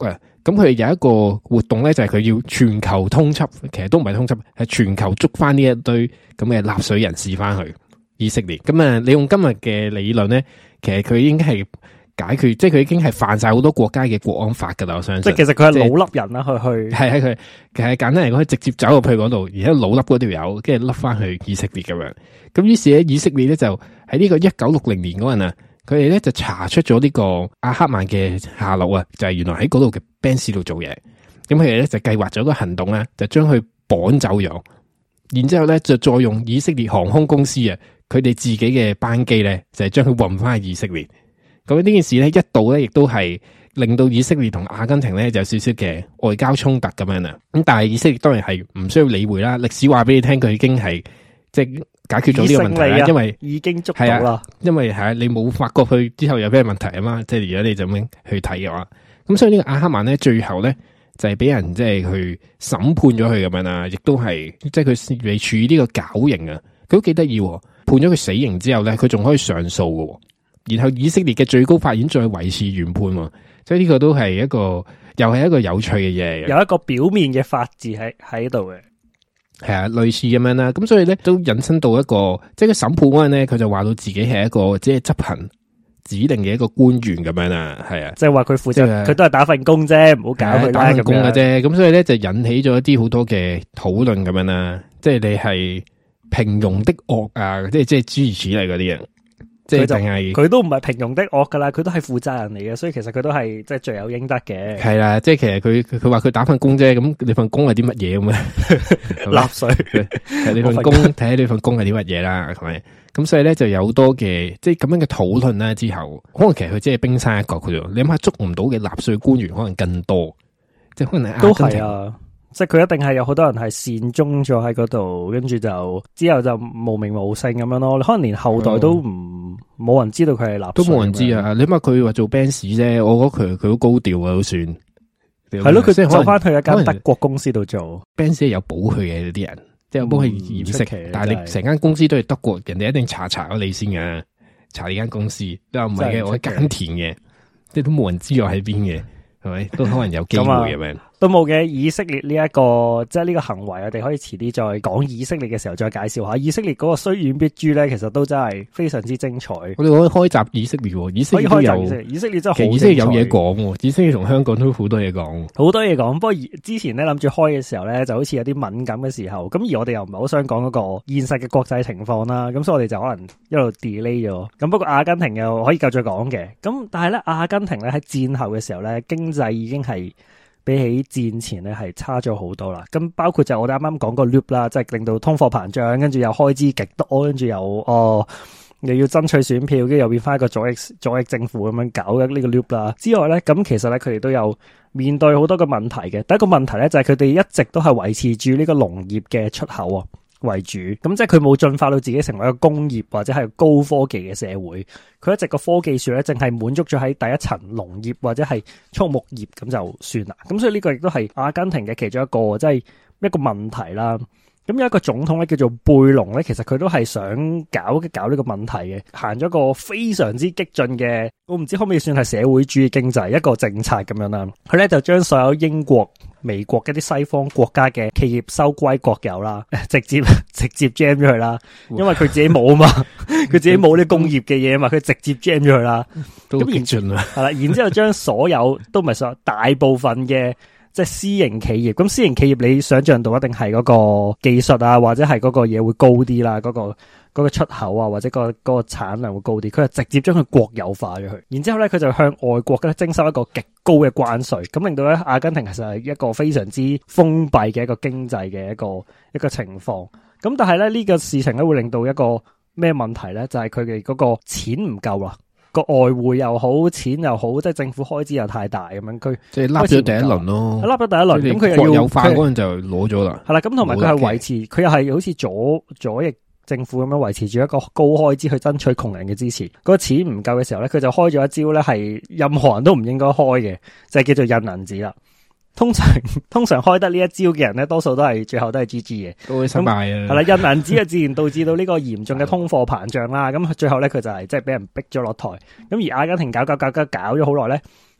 咁佢有一個活動咧，就係佢要全球通緝，其實都唔係通緝，係全球捉翻呢一堆咁嘅納粹人士翻去以色列。咁啊，你用今日嘅理論咧，其實佢已經係解決，即係佢已經係犯晒好多國家嘅國安法噶啦。我相信，即係其實佢係老笠人啦，去去係喺佢，其實簡單嚟講，佢直接走入去嗰度，而家老笠嗰條友，跟住笠翻去以色列咁樣。咁於是咧，以色列咧就喺呢個一九六零年嗰陣啊，佢哋咧就查出咗呢個阿克曼嘅下落啊，就係、是、原來喺嗰度嘅 Benz 度做嘢。咁佢哋咧就計劃咗個行動咧，就將佢綁走咗，然之後咧就再用以色列航空公司啊，佢哋自己嘅班機咧，就係將佢運翻去以色列。咁呢件事咧，一度咧亦都係令到以色列同阿根廷咧就有少少嘅外交衝突咁樣啊。咁但係以色列當然係唔需要理會啦。歷史話俾你聽，佢已經係即係解決咗呢個問題啦，因為已經捉到啦。 因為係你冇發覺佢之後有咩問題啊嘛。即係如果你就咁樣去睇嘅話，咁所以呢個阿克曼咧最後咧就係、是、俾人即係去審判咗佢咁樣啦，亦都係即係佢被處於呢個絞刑啊。佢都幾得意，判咗佢死刑之後咧，佢仲可以上訴嘅。然後以色列嘅最高法院再維持原判，所以呢個都係一個又係一個有趣嘅嘢， 有一個表面嘅法治喺喺度嘅， 係啊，類似咁樣啦。咁所以咧都引申到一個，即係佢審判嗰陣咧，佢就話到自己係一個即係執行指令嘅一個官員咁樣啦，係啊， 即係話佢負責，佢、就是、都係打份工啫，唔好搞佢打份工嘅啫。咁所以咧就引起咗一啲好多嘅討論咁樣啦，即係你係平庸的惡啊，即係即係諸如此類嗰啲嘢。即係淨係佢都唔係平庸的惡噶啦，佢都係負責人嚟嘅，所以其實佢都係即係罪有應得嘅。 係啦，即係其實佢佢話佢打份工啫，咁你份工係啲乜嘢咁啊？ 納稅， 係你份工睇下你份工係啲乜嘢啦，係咪？咁所以咧就有好多嘅即係咁樣嘅討論啦。之後可能其實佢只係冰山一角嘅啫。你諗下捉唔到嘅納稅官員可能更多，即係可能都係啊。即係佢一定係有好多人係善終咗喺嗰度，跟住就之後就無名無姓咁樣咯。可能連後代都唔冇、嗯、人知道佢係納稅，都冇人知啊！你諗下佢話做 Benz 啫，我覺得佢佢好高調啊，都算係咯。佢即係走翻去一間德國公司度做 Benz 有保佢嘅啲人，即係有幫佢掩飾。但係你成間公司都係德國，人哋一定查查咗你先嘅，查你間公司。你話唔係嘅，我喺耕田嘅，即係都冇人知我喺邊嘅，係咪？都可能有機會咁樣。 都冇嘅，以色列呢、這、一個即係呢個行為，我哋可以遲啲再講以色列嘅時候再介紹下。以色列嗰個雖遠必誅咧，其實都真係非常之精彩。我哋可以開集以色列，以色列都有以色列，以色列真係好。 其實以色列有嘢講，以色列同香港都好多嘢講， 好多嘢講。不過之前咧諗住開嘅時候咧，就好似有啲敏感嘅時候，咁而我哋又唔係好想講嗰個現實嘅國際情況啦，咁所以我哋就可能一路 delay 咗。咁不過阿根廷又可以繼續講嘅，咁但係咧阿根廷咧喺戰後嘅時候咧，經濟已經係比起戰前咧係差咗好多啦，咁包括就我哋啱啱講個 loop 啦，即係令到通貨膨脹，跟住又開支極多，跟住又哦又要爭取選票，跟住又變翻一個左翼左翼政府咁樣搞嘅呢個 loop 啦。之外咧，咁其實咧佢哋都有面對好多個問題嘅。第一個問題咧就係佢哋一直都係維持住呢個農業嘅出口啊為主，咁即係佢冇進化到自己成為一個工業或者係高科技嘅社會，佢一直個科技樹咧淨係滿足咗喺第一層農業或者係畜牧業咁就算啦。咁所以呢個亦都係阿根廷嘅其中一個即係一個問題啦。咁有一個總統咧叫做貝隆咧，其實佢都係想搞搞呢個問題嘅，行咗個非常之激進嘅，我唔知可唔可以算係社會主義經濟一個政策咁樣啦。佢咧就將所有英國、美國一啲西方國家嘅企業收歸國有啦，直接直接 jam 咗佢啦，因為佢自己冇啊嘛，佢自己冇啲工業嘅嘢啊嘛，佢直接 jam 咗佢啦。 都激進啊！ 係啦，然之後將所有都唔係所有，大部分嘅。即係私營企業，咁私營企業你想象到一定係嗰個技術啊，或者係嗰個嘢會高啲啦，嗰、嗰個嗰、嗰個出口啊，或者、嗰個嗰、嗰個產量會高啲。佢係直接將佢國有化咗佢，然之後咧佢就向外國咧徵收一個極高嘅關稅，咁令到咧阿根廷其實係一個非常之封閉嘅一個經濟嘅一個一個情況。咁但係咧呢、呢個事情咧會令到一個咩問題咧？就係佢哋嗰個錢唔夠啦。個外匯又好，錢又好，即係政府開支又太大咁樣，佢即係笠咗第一輪咯， 笠咗第一輪，咁佢又要有化嗰陣就攞咗啦。 係啦，咁同埋佢係維持，佢又係好似左左翼政府咁樣維持住一個高開支去爭取窮人嘅支持。嗰個錢唔夠嘅時候咧，佢就開咗一招咧，係任何人都唔應該開嘅，就係叫做印銀紙啦。通常通常開得呢一招嘅人咧，多數都係最後都係 G G 嘅， 都會失敗啊。 係啦，印銀紙啊，自然導致到呢個嚴重嘅通貨膨脹啦。咁最後咧，佢就係即係俾人逼咗落台。咁而阿根廷搞搞搞搞搞咗好耐咧，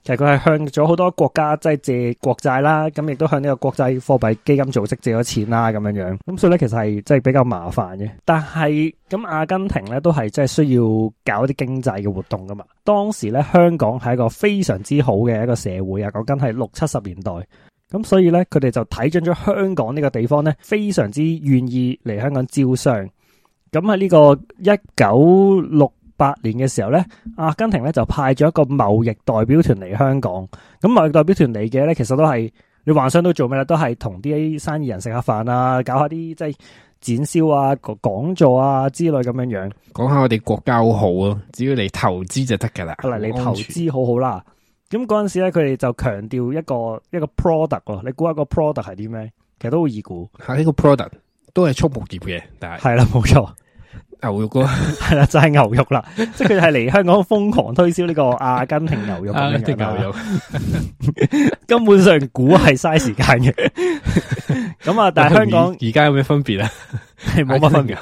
其實佢係向咗好多國家即係借國債啦，咁亦都向呢個國際貨幣基金組織借咗錢啦，咁樣樣。咁所以咧，其實係即係比較麻煩嘅。但係咁阿根廷咧都係即係需要搞啲經濟嘅活動噶嘛。當時咧香港係一個非常之好嘅一個社會啊，講緊係六七十年代。咁所以咧，佢哋就睇準咗香港呢個地方咧，非常之願意嚟香港招商。咁喺呢個一九六八年嘅時候咧，阿根廷咧就派咗一個貿易代表團嚟香港。咁貿易代表團嚟嘅咧，其實都係你幻想到做咩咧？都係同啲生意人食下飯啊，搞下啲即係展銷啊、講座啊之類咁樣樣。講下我哋國家好好啊，只要嚟投資就得噶啦。嚟嚟投資好好啦。咁嗰陣時咧，佢哋就強調一個一個 product 喎。你估下個 product 係啲咩？其實都好易估。係呢個 product 都係畜牧業嘅，但係係啦，冇錯。牛肉咯，係啦，就係、是、牛肉啦，即係佢係嚟香港瘋狂推銷呢個阿根廷牛肉咁樣嘅牛肉，根本上估係嘥時間嘅。咁啊，但係香港而家有咩分別啊？係冇乜分別。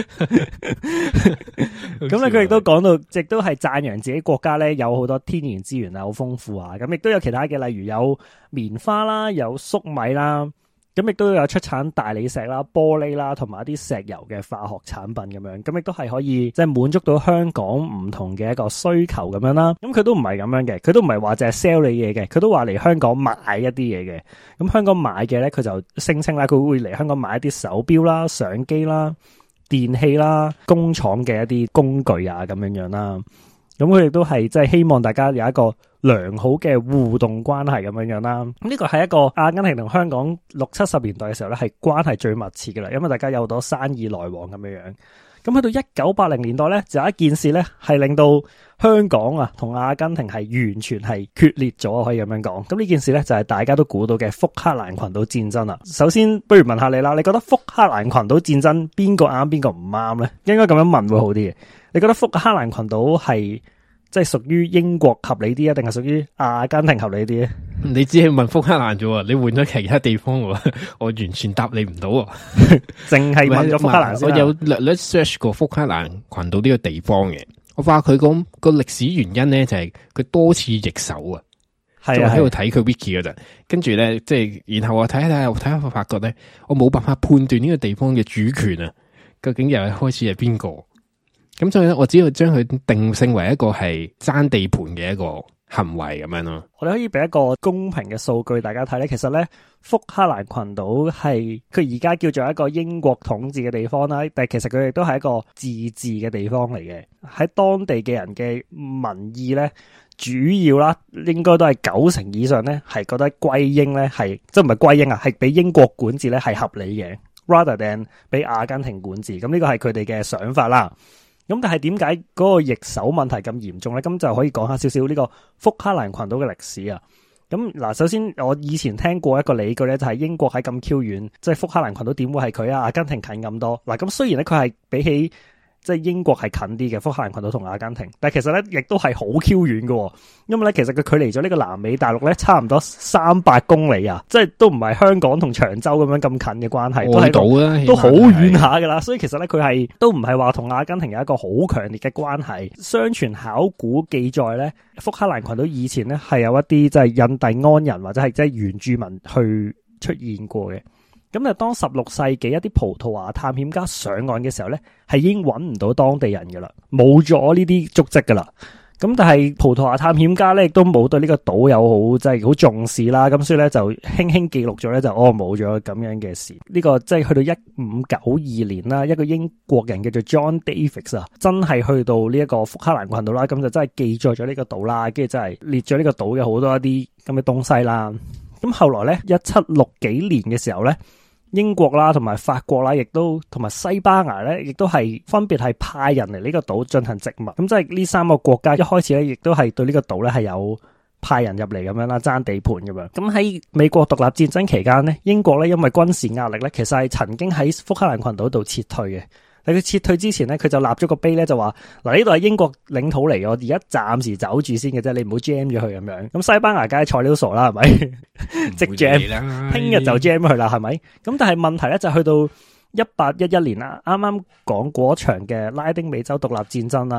咁咧，佢亦都講到，亦都係讚揚自己國家咧有好多天然資源啊，好豐富啊。咁亦都有其他嘅，例如有棉花啦，有粟米啦。咁亦都有出產大理石啦、玻璃啦，同埋一啲石油嘅化學產品咁樣，咁亦都係可以即係滿足到香港唔同嘅一個需求咁樣啦。咁佢都唔係咁樣嘅，佢都唔係話淨係 sell 你嘢嘅，佢都話嚟香港買一啲嘢嘅。咁香港買嘅咧，佢就聲稱啦，佢會嚟香港買一啲手錶啦、相機啦、電器啦、工廠嘅一啲工具啊咁樣樣啦。咁佢亦都係即係希望大家有一個良好嘅互動關係咁樣樣啦。咁呢個係一個阿根廷同香港六七十年代嘅時候咧，係關係最密切嘅啦，因為大家有好多生意來往咁樣樣。咁去到一九八零年代咧，就有一件事咧係令到香港啊同阿根廷係完全係決裂咗，可以咁樣講。咁呢件事咧就係大家都估到嘅福克蘭群島戰爭啦。首先，不如問下你啦，你覺得福克蘭群島戰爭邊個啱邊個唔啱咧？應該咁樣問會好啲嘅。你覺得福克蘭群島係即係屬於英國合理啲啊，定係屬於阿根廷合理啲咧？你只係問福克蘭啫喎，你換咗其他地方喎，我完全答你唔到喎。淨係問咗福克蘭先。我有略略 search 過福克蘭群島呢個地方嘅，我話佢講個歷史原因咧就係佢多次易手啊。係啊，喺度睇佢 wiki 嗰陣，跟住咧即係然後我睇下睇下睇下，我發覺咧我冇辦法判斷呢個地方嘅主權啊，究竟又係開始係邊個？咁所以咧，我只要將佢定性為一個係爭地盤嘅一個行為咁樣咯。我哋可以俾一個公平嘅數據大家睇咧，其實咧福克蘭群島係佢而家叫做一個英國統治嘅地方啦，但係其實佢亦都係一個自治嘅地方嚟嘅。喺當地嘅人嘅民意咧，主要啦應該都係九成以上咧係覺得歸英咧係即係唔係歸英啊，係俾英國管治咧係合理嘅 ，rather than 俾阿根廷管治。咁呢個係佢哋嘅想法啦。咁但係點解嗰個易手問題咁嚴重咧？咁就可以講下少少呢個福克蘭群島嘅歷史啊。咁嗱，首先我以前聽過一個理據咧，就係英國喺咁 Q 遠，即係福克蘭群島點會係佢啊？阿根廷近咁多嗱。咁雖然咧佢係比起即係英國係近啲嘅福克蘭群島同阿根廷，但係其實咧亦都係好 Q 遠嘅，因為咧其實佢距離咗呢個南美大陸咧差唔多三百公里啊，即係都唔係香港同長洲咁樣咁近嘅關係，都喺度都好遠下噶啦。所以其實咧佢係都唔係話同阿根廷有一個好強烈嘅關係。相傳考古記載咧，福克蘭群島以前咧係有一啲即係印第安人或者係即係原住民去出現過嘅。咁啊，當十六世紀一啲葡萄牙探險家上岸嘅時候咧，係已經揾唔到當地人噶啦，冇咗呢啲足跡噶啦。咁但係葡萄牙探險家咧亦都冇對呢個島有好即係好重視啦。咁所以咧就輕輕記錄咗咧就哦冇咗咁樣嘅事。呢個即係去到一五九二年啦，一個英國人叫做 John Davis 啊，真係去到呢一個福克蘭群島啦，咁就真係記載咗呢個島啦，跟住真係列咗呢個島嘅好多一啲咁嘅東西啦。咁後來咧一七六幾年嘅時候咧，英國啦，同埋法國啦，亦都同埋西班牙咧，亦都係分別係派人嚟呢個島進行殖民。咁即係呢三個國家一開始咧，亦都係對呢個島咧係有派人入嚟咁樣啦，爭地盤咁樣。咁喺美國獨立戰爭期間咧，英國咧因為軍事壓力咧，其實係曾經喺福克蘭群島度撤退嘅。但佢撤退之前咧，佢就立咗個碑咧，就話嗱呢度係英國領土嚟，我而家暫時走住先嘅啫，你唔好 jam 咗佢咁樣。咁西班牙梗係材料傻啦，係咪？即 jam， 聽日就 jam 佢啦，係咪？咁但係問題咧就去到一八一一年啦，啱啱講嗰場嘅拉丁美洲獨立戰爭啦。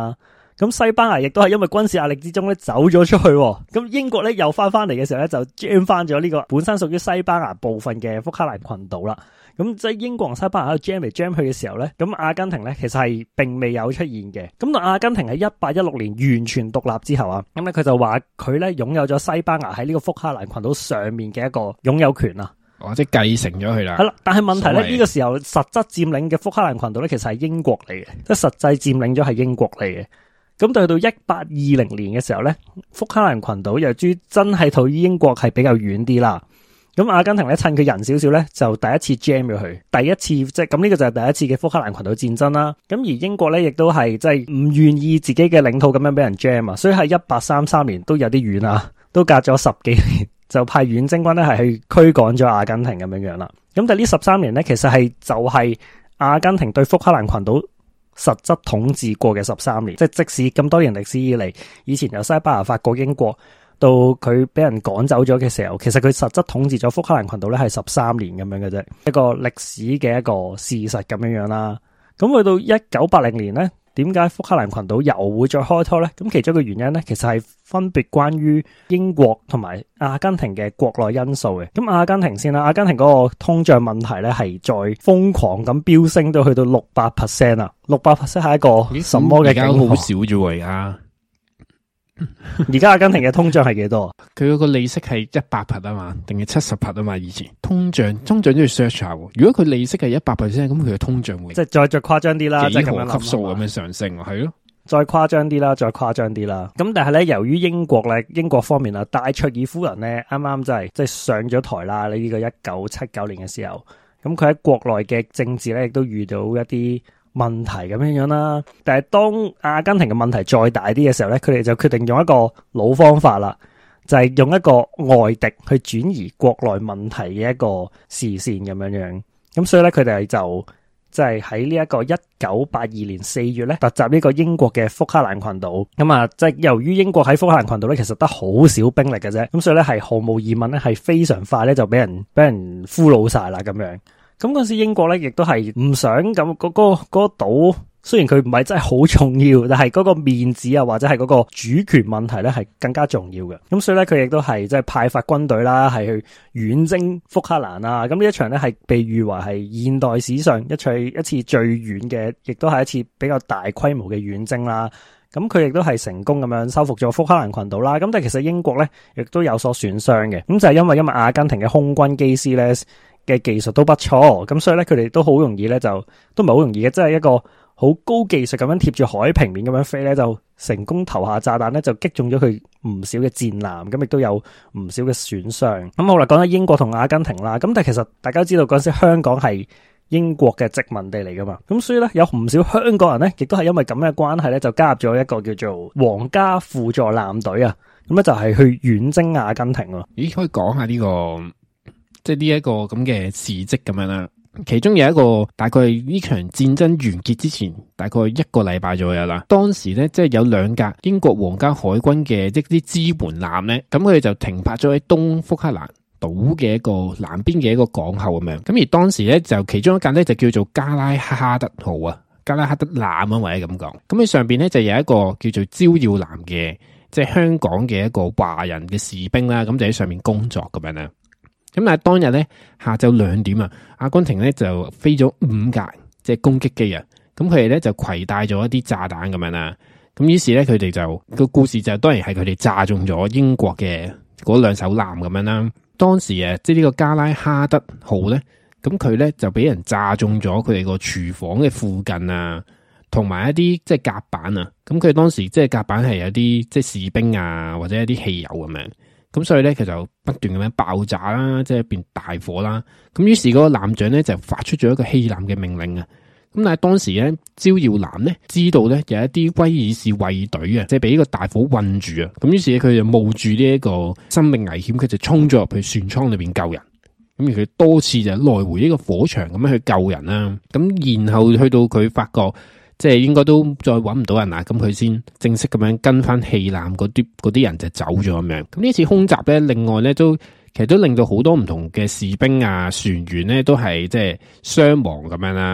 咁西班牙亦都係因為軍事壓力之中咧走咗出去，咁英國咧又翻翻嚟嘅時候咧就 jam 翻咗呢個本身屬於西班牙部分嘅福克蘭群島啦。咁即係英國同西班牙喺度 jam 嚟 jam 去嘅時候咧，咁阿根廷咧其實係並未有出現嘅。咁到阿根廷喺一八一六年完全獨立之後啊，咁咧佢就話佢咧擁有咗西班牙喺呢個福克蘭群島上面嘅一個擁有權啊。 或者繼承咗佢啦。係啦，但係問題咧呢、這個時候實質佔領嘅福克蘭群島咧其實係英國嚟嘅，即係實際佔領咗係英國嚟嘅。咁到到一八二零年嘅時候咧，福克蘭群島由於真係同於英國係比較遠啲啦。咁阿根廷咧趁佢人少少咧，就第一次 jam 咗佢，第一次即係咁呢個就係第一次嘅福克蘭群島戰爭啦。咁而英國咧亦都係即係唔願意自己嘅領土咁樣俾人 jam 啊，所以喺一八三三年都有啲遠啊，都隔咗十幾年就派遠征軍咧係去驅趕咗阿根廷咁樣樣啦。咁但係呢十三年咧，其實係就係阿根廷對福克蘭群島實質統治過嘅十三年，即係即使咁多年歷史以嚟，以前由西班牙、法國、英國。到佢俾人趕走咗嘅時候，其實佢實質統治咗福克蘭群島咧係十三年咁樣嘅啫，一個歷史嘅一個事實咁樣樣啦。咁去到一九八零年咧，點解福克蘭群島又會再開拖咧？咁其中一個原因咧，其實係分別關於英國同埋阿根廷嘅國內因素嘅。咁阿根廷先啦，阿根廷嗰個通脹問題咧係再瘋狂咁飆升到去到六百 percent 啊，六百 percent 係一個什麼嘅境況？而家好少啫喎，而家。而家阿根廷嘅通脹係幾多？ 佢嗰個利息係一百 percent 啊嘛，定係七十 percent 啊嘛？以前通脹通脹都要 search 下。如果佢利息係一百 percent，咁佢嘅通脹會即係再再誇張啲啦， 幾何級數咁樣上升，係咯？ 再誇張啲啦，再誇張啲啦。咁但係咧，由於英國咧，英國方面啊，戴卓爾夫人咧，啱啱就係即係上咗台啦。呢、這個一九七九年嘅時候，咁佢喺國內嘅政治咧，亦都遇到一啲問題咁樣樣啦，但係當阿根廷嘅問題再大啲嘅時候咧，佢哋就決定用一個老方法啦，就係用一個外敵去轉移國內問題嘅一個視線咁樣樣。咁所以咧，佢哋就即係喺呢一個一九八二年四月咧，突襲呢個英國嘅福克蘭群島。咁啊，即係由於英國喺福克蘭群島咧，其實得好少兵力嘅啫，咁所以咧係毫無疑問咧，係非常快咧就俾人俾人俘虜晒啦咁樣。咁嗰時英國咧，亦都係唔想咁嗰、嗰個嗰、嗰個島，雖然佢唔係真係好重要，但係嗰個面子啊，或者係嗰個主權問題咧，係更加重要嘅。咁所以咧，佢亦都係即係派發軍隊啦，係去遠征福克蘭啊。咁呢一場咧係被譽為係現代史上一場一次最遠嘅，亦都係一次比較大規模嘅遠征啦。咁佢亦都係成功咁樣收復咗福克蘭群島啦。咁但係其實英國咧亦都有所損傷嘅。咁就係因為因為阿根廷嘅空軍機師咧嘅技術都不錯，咁所以咧佢哋都好容易咧就都唔係好容易嘅，即係一個好高技術咁樣貼住海平面咁樣飛咧，就成功投下炸彈咧，就擊中咗佢唔少嘅戰艦，咁亦都有唔少嘅損傷。咁好啦，講緊英國同阿根廷啦，咁但係其實大家知道嗰陣時香港係英國嘅殖民地嚟噶嘛，咁所以咧有唔少香港人咧，亦都係因為咁嘅關係咧，就加入咗一個叫做皇家輔助艦隊啊，咁咧就係去遠征阿根廷咯。 咦，可以講下呢個？即係呢一個咁嘅事蹟咁樣啦，其中有一個大概呢場戰爭完結之前大概一個禮拜左右啦。當時咧即係有兩架英國皇家海軍嘅即啲支援艦咧，咁佢哋就停泊咗喺東福克蘭島嘅一個南邊嘅一個港口咁樣。咁而當時咧就其中一架咧就叫做加拉哈德號啊，加拉哈德艦啊或者咁講。咁佢上邊咧就有一個叫做招耀南嘅，即係香港嘅一個華人嘅士兵啦，咁就喺上面工作咁樣啦。咁但係當日咧下晝兩點啊，阿根廷咧就飛咗五架即係攻擊機啊，咁佢哋咧就攜帶咗一啲炸彈咁樣啦，咁於是咧佢哋就個故事就當然係佢哋炸中咗英國嘅嗰兩艘艦咁樣啦。當時啊，即係呢個加拉哈德號咧，咁佢咧就俾人炸中咗佢哋個廚房嘅附近啊，同埋一啲即係甲板啊，咁佢當時即係甲板係有啲即係士兵啊或者一啲汽油咁樣。咁所以咧，佢就不斷咁樣爆炸啦，即係變大火啦。咁於是嗰個艦長咧就發出咗一個棄艦嘅命令啊。咁但係當時咧，招耀南咧知道咧有一啲威爾士衛隊啊，即係俾呢個大火困住啊。咁於是咧，佢就冒住呢一個生命危險，佢就衝咗入去船艙裏邊救人。咁而佢多次就來回呢個火場咁樣去救人啦。咁然後去到佢發覺，即係應該都再揾唔到人啦，咁佢先正式咁樣跟翻棄艦嗰啲嗰啲人就走咗咁樣。咁呢次空襲咧，另外咧都其實都令到好多唔同嘅士兵啊、船員咧都係即係傷亡咁樣啦。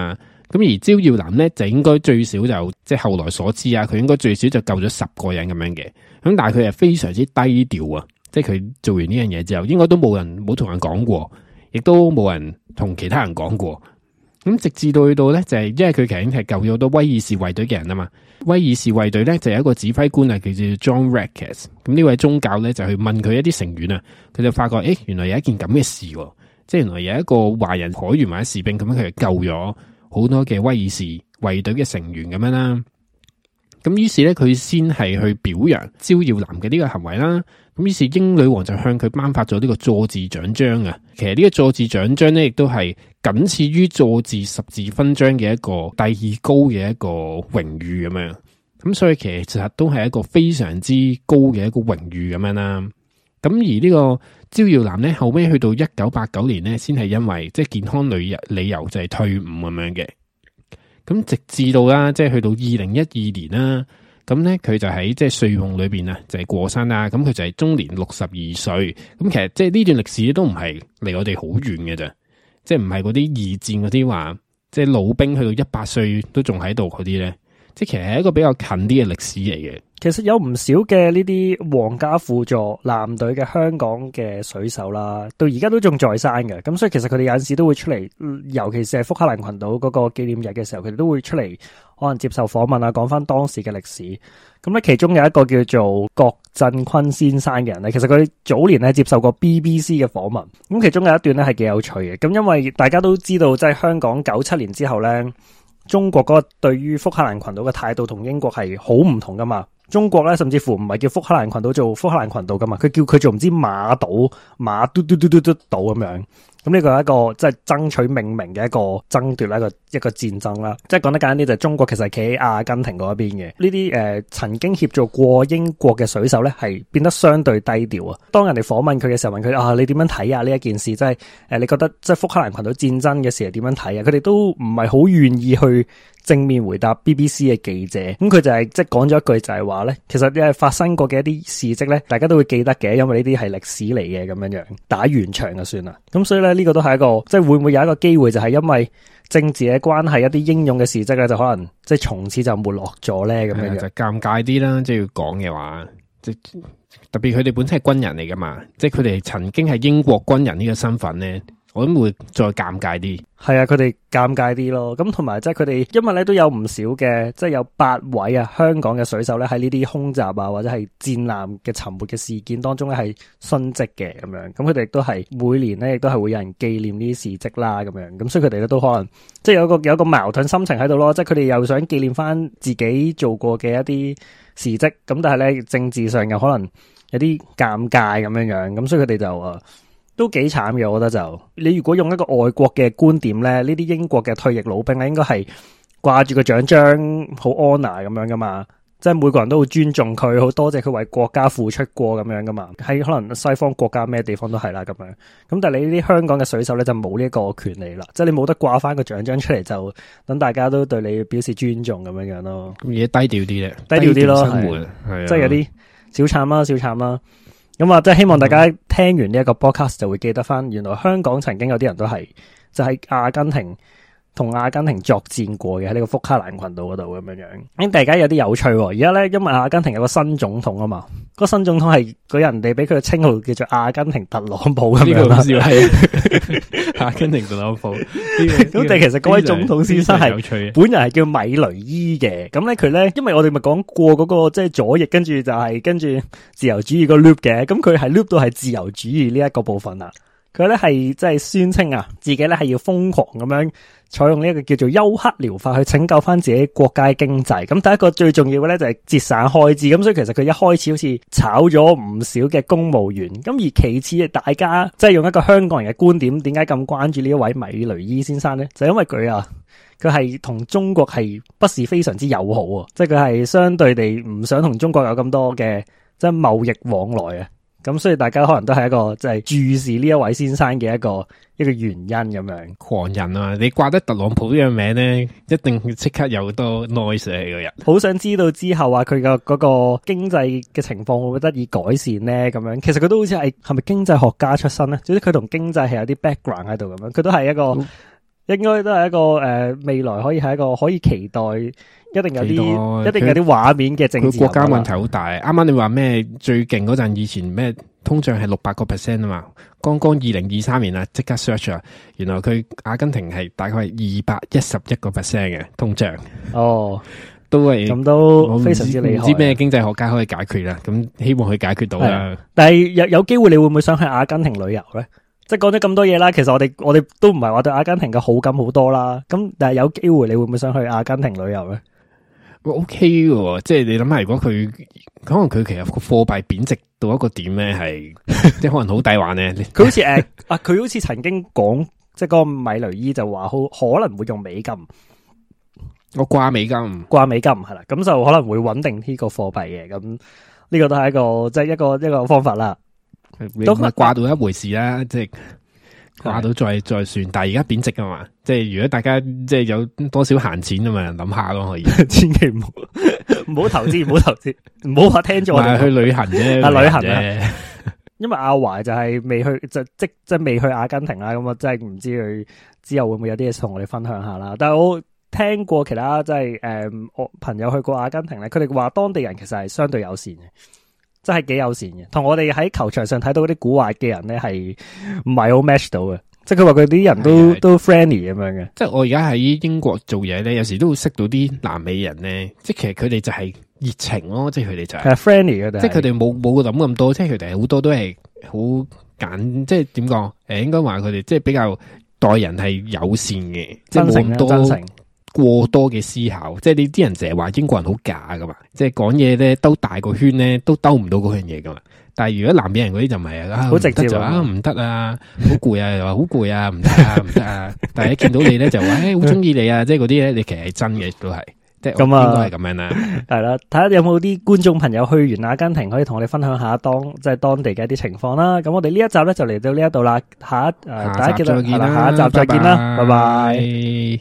咁而招耀南咧就應該最少就即係後來所知啊，佢應該最少就救咗十個人咁樣嘅。咁但係佢係非常之低調啊，即係佢做完呢樣嘢之後，應該都冇人冇同人講過，亦都冇人同其他人講過。咁直至到去到咧，就係、是、因為佢其實已經係救咗好多威爾士衛隊嘅人啊嘛。威爾士衛隊咧就有一個指揮官啊，叫做 John Rackes。咁呢位宗教咧就去問佢一啲成員啊，佢就發覺誒，原來有一件咁嘅事，即係原來有一個華人海員或者士兵咁樣，佢就救咗好多嘅威爾士衛隊嘅成員咁樣啦。咁於是咧，佢先係去表揚招耀南嘅呢個行為啦。咁於是英女王就向佢頒發咗呢個佐治獎章啊。其實呢個佐治獎章咧，亦都係僅次於佐治十字勳章嘅一個第二高嘅一個榮譽咁樣。咁所以其實都係一個非常之高嘅一個榮譽咁樣啦。咁而呢個招耀南咧，後尾去到一九八九年咧，先係因為即係健康理由理由就係退伍咁樣嘅。咁直至到啦，即係去到二零一二年啦，咁咧佢就喺即係睡夢裏邊啊，就係過身啦。咁佢就係終年六十二歲。咁其實即係呢段歷史都唔係離我哋好遠嘅啫，即係唔係嗰啲二戰嗰啲話，即係老兵去到一百歲都仲喺度嗰啲咧，即係其實係一個比較近啲嘅歷史嚟嘅。 其實有唔少嘅呢啲皇家輔助艦隊嘅香港嘅水手啦，到而家都仲在生嘅。咁所以其實佢哋有陣時都會出嚟，尤其是係福克蘭群島嗰個紀念日嘅時候，佢哋都會出嚟可能接受訪問啊，講翻當時嘅歷史。咁咧其中有一個叫做郭振坤先生嘅人咧，其實佢早年咧接受過 B B C 嘅訪問。咁其中有一段咧係幾有趣嘅。咁因為大家都知道，即係香港九七年之後咧，中國嗰個對於福克蘭群島嘅態度同英國係好唔同噶嘛。中國咧，甚至乎唔係叫福克蘭群島做福克蘭群島噶嘛，佢叫佢做唔知馬島馬嘟嘟嘟嘟嘟島咁樣。咁呢個係一個即係爭取命名嘅一個爭奪啦，一個一個戰爭啦。即係講得簡單啲，就係中國其實係企喺阿根廷嗰一邊嘅。呢啲誒曾經協助過英國嘅水手咧，係變得相對低調啊。當人哋訪問佢嘅時候，問佢啊，你點樣睇啊呢一件事？即係誒，你覺得即係福克蘭群島戰爭嘅時係點樣睇啊？佢哋都唔係好願意去正面回答 B B C 嘅記者。咁佢就係即係講咗一句就係話咧，其實誒發生過嘅一啲事蹟咧，大家都會記得嘅，因為呢啲係歷史嚟嘅咁樣樣，打完場就算啦。咁所以咧。呢個都係一個，即係會唔會有一個機會，就係因為政治嘅關係，一啲英勇嘅事蹟咧，就可能即係從此就沒落咗咧，咁樣樣就尷尬啲啦。即係要講嘅話，即特別佢哋本身係軍人嚟噶嘛，即係佢哋曾經係英國軍人呢個身份咧。我諗會再尷尬啲，係啊，佢哋尷尬啲咯。咁同埋即係佢哋，因為咧都有唔少嘅，即係有八位啊香港嘅水手咧喺呢啲空襲啊或者係戰艦嘅沉沒嘅事件當中咧係殉職嘅咁樣。咁佢哋亦都係每年咧亦都係會有人紀念呢啲事蹟啦咁樣。咁所以佢哋咧都可能即係有一個有一個矛盾心情喺度咯。即係佢哋又想紀念翻自己做過嘅一啲事蹟，咁但係咧政治上又可能有啲尷尬咁樣樣。咁所以佢哋就誒。都幾慘嘅，我覺得就你如果用一個外國嘅觀點咧，呢啲英國嘅退役老兵咧，應該係掛住個獎章，好 honor 咁樣噶嘛，即係每個人都好尊重佢，好多謝佢為國家付出過咁樣噶嘛。喺可能西方國家咩地方都係啦咁樣。咁但係你呢啲香港嘅水手咧就冇呢個權利啦，即係你冇得掛翻個獎章出嚟，就等大家都對你表示尊重咁樣樣咯。咁而家低調啲咧，低調啲咯，生活係即係有啲小慘啦，小慘啦。咁啊，即係希望大家聽完呢一個 podcast 就會記得翻，原來香港曾經有啲人都係就喺阿根廷同阿根廷作戰過嘅，喺呢個福克蘭群島嗰度咁樣樣。咁大家有啲有趣，而家咧因為阿根廷有個新總統啊嘛，個新總統係佢人哋俾佢嘅稱號叫做阿根廷特朗普咁樣啦，係阿根廷特朗普。咁但係其實嗰位總統先生係本人係叫米雷伊嘅。咁咧佢咧，因為我哋咪講過嗰個即係左翼，跟住就係跟住自由主義個 loop 嘅，咁佢係 loop 到係自由主義呢一個部分啦。佢咧係即係宣稱啊，自己咧係要瘋狂咁樣採用呢一個叫做休克療法去拯救翻自己國家經濟。咁第一個最重要嘅咧就係節省開支。咁所以其實佢一開始好似炒咗唔少嘅公務員。咁而其次，大家即係用一個香港人嘅觀點，點解咁關注呢一位米雷伊先生咧？就因為佢啊，佢係同中國係不是非常之友好啊，即係佢係相對地唔想同中國有咁多嘅即係貿易往來啊。咁所以大家可能都係一個即係注視呢一位先生嘅一個一個原因咁樣。狂人啊！你掛得特朗普呢個名咧，一定即刻有好多 noise 喺個人。好想知道之後啊，佢嘅嗰個經濟嘅情況會唔會得以改善咧？咁樣其實佢都好似係係咪經濟學家出身咧？總之佢同經濟係有啲 background 喺度咁樣。佢都係一個應該都係一個誒、呃、未來可以係一個可以期待，一定有啲一定有啲畫面嘅政治。佢國家問題好大。啱啱你話咩最勁嗰陣，以前咩通脹係六百個 percent 啊嘛，剛剛二零二三年啊，即刻 search 啊，原來佢阿根廷係大概係二百一十一個 percent 嘅通脹。哦。都係咁都非常之厲害，唔知咩經濟學家可以解決啦。咁希望佢解決到啦。 但係有有機會，你會唔會想去阿根廷旅遊咧？即係講咗咁多嘢啦，其實我哋我哋都唔係話對阿根廷嘅好感好多啦。咁但係有機會，你會唔會想去阿根廷旅遊咧？ 我 OK 嘅，即係你諗下，如果佢可能佢其實個貨幣貶值到一個點咧，係即係可能好抵玩咧。 佢好似誒啊，佢好似曾經講，即係嗰個米雷伊就話好可能會用美金。 我掛美金， 掛美金係啦，咁就可能會穩定呢個貨幣嘅，咁呢個都係一個即係、就是、一個一個方法啦。 都掛到一回事啦，即係掛到再再算。但係而家貶值啊嘛，即係如果大家即係有多少閒錢啊嘛，諗下咯可以。千祈唔好唔好投資，唔好投資，唔好話聽咗我哋去旅行啫， 啊旅行啊。因為阿華就係未去，就即即係未去阿根廷啦，咁我真係唔知佢之後會唔會有啲嘢同我哋分享下啦。但係我聽過其他即係誒，我朋友去過阿根廷咧，佢哋話當地人其實係相對友善嘅，真係幾友善嘅，同我哋喺球場上睇到嗰啲古惑嘅人咧係唔係好 match 到嘅，即係佢話佢啲人都都 friendly 咁樣嘅。即係我而家喺英國做嘢咧，有時都會識到啲南美人咧，即係其實佢哋就係熱情咯，即係佢哋就係、是、 friendly 嘅， 即係佢哋冇冇諗咁多，即係佢哋好多都係好簡，即係點講誒，應該話佢哋即係比較待人係友善嘅，即係冇咁多過多嘅思考，即係你啲人成日話英國人好假噶嘛，即係講嘢咧兜大個圈咧都兜唔到嗰樣嘢噶嘛。但係如果南美人嗰啲就唔係啊，好直接就啊唔得啊，好攰啊，又話好攰啊，唔得啊唔得啊。但係一見到你咧就話誒好中意你啊，即係嗰啲咧你其實係真嘅都係，即係應該係咁樣啦。係啦，睇下有冇啲觀眾朋友去完阿根廷可以同我哋分享下當即係當地嘅一啲情況啦。咁我哋呢一集咧就嚟到呢一度啦，下一誒、呃、大家記得係啦，下一集再見啦，拜拜。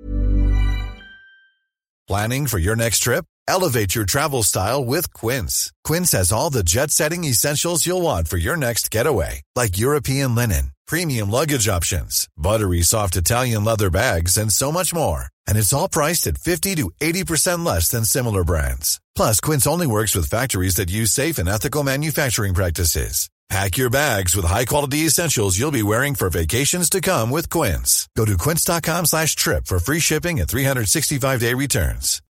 Planning for your next trip? Elevate your travel style with Quince. Quince has all the jet-setting essentials you'll want for your next getaway, like European linen, premium luggage options, buttery soft Italian leather bags, and so much more. And it's all priced at fifty to eighty percent less than similar brands. Plus, Quince only works with factories that use safe and ethical manufacturing practices. Pack your bags with high-quality essentials you'll be wearing for vacations to come with Quince. Go to quince.com slash trip for free shipping and three sixty-five day returns.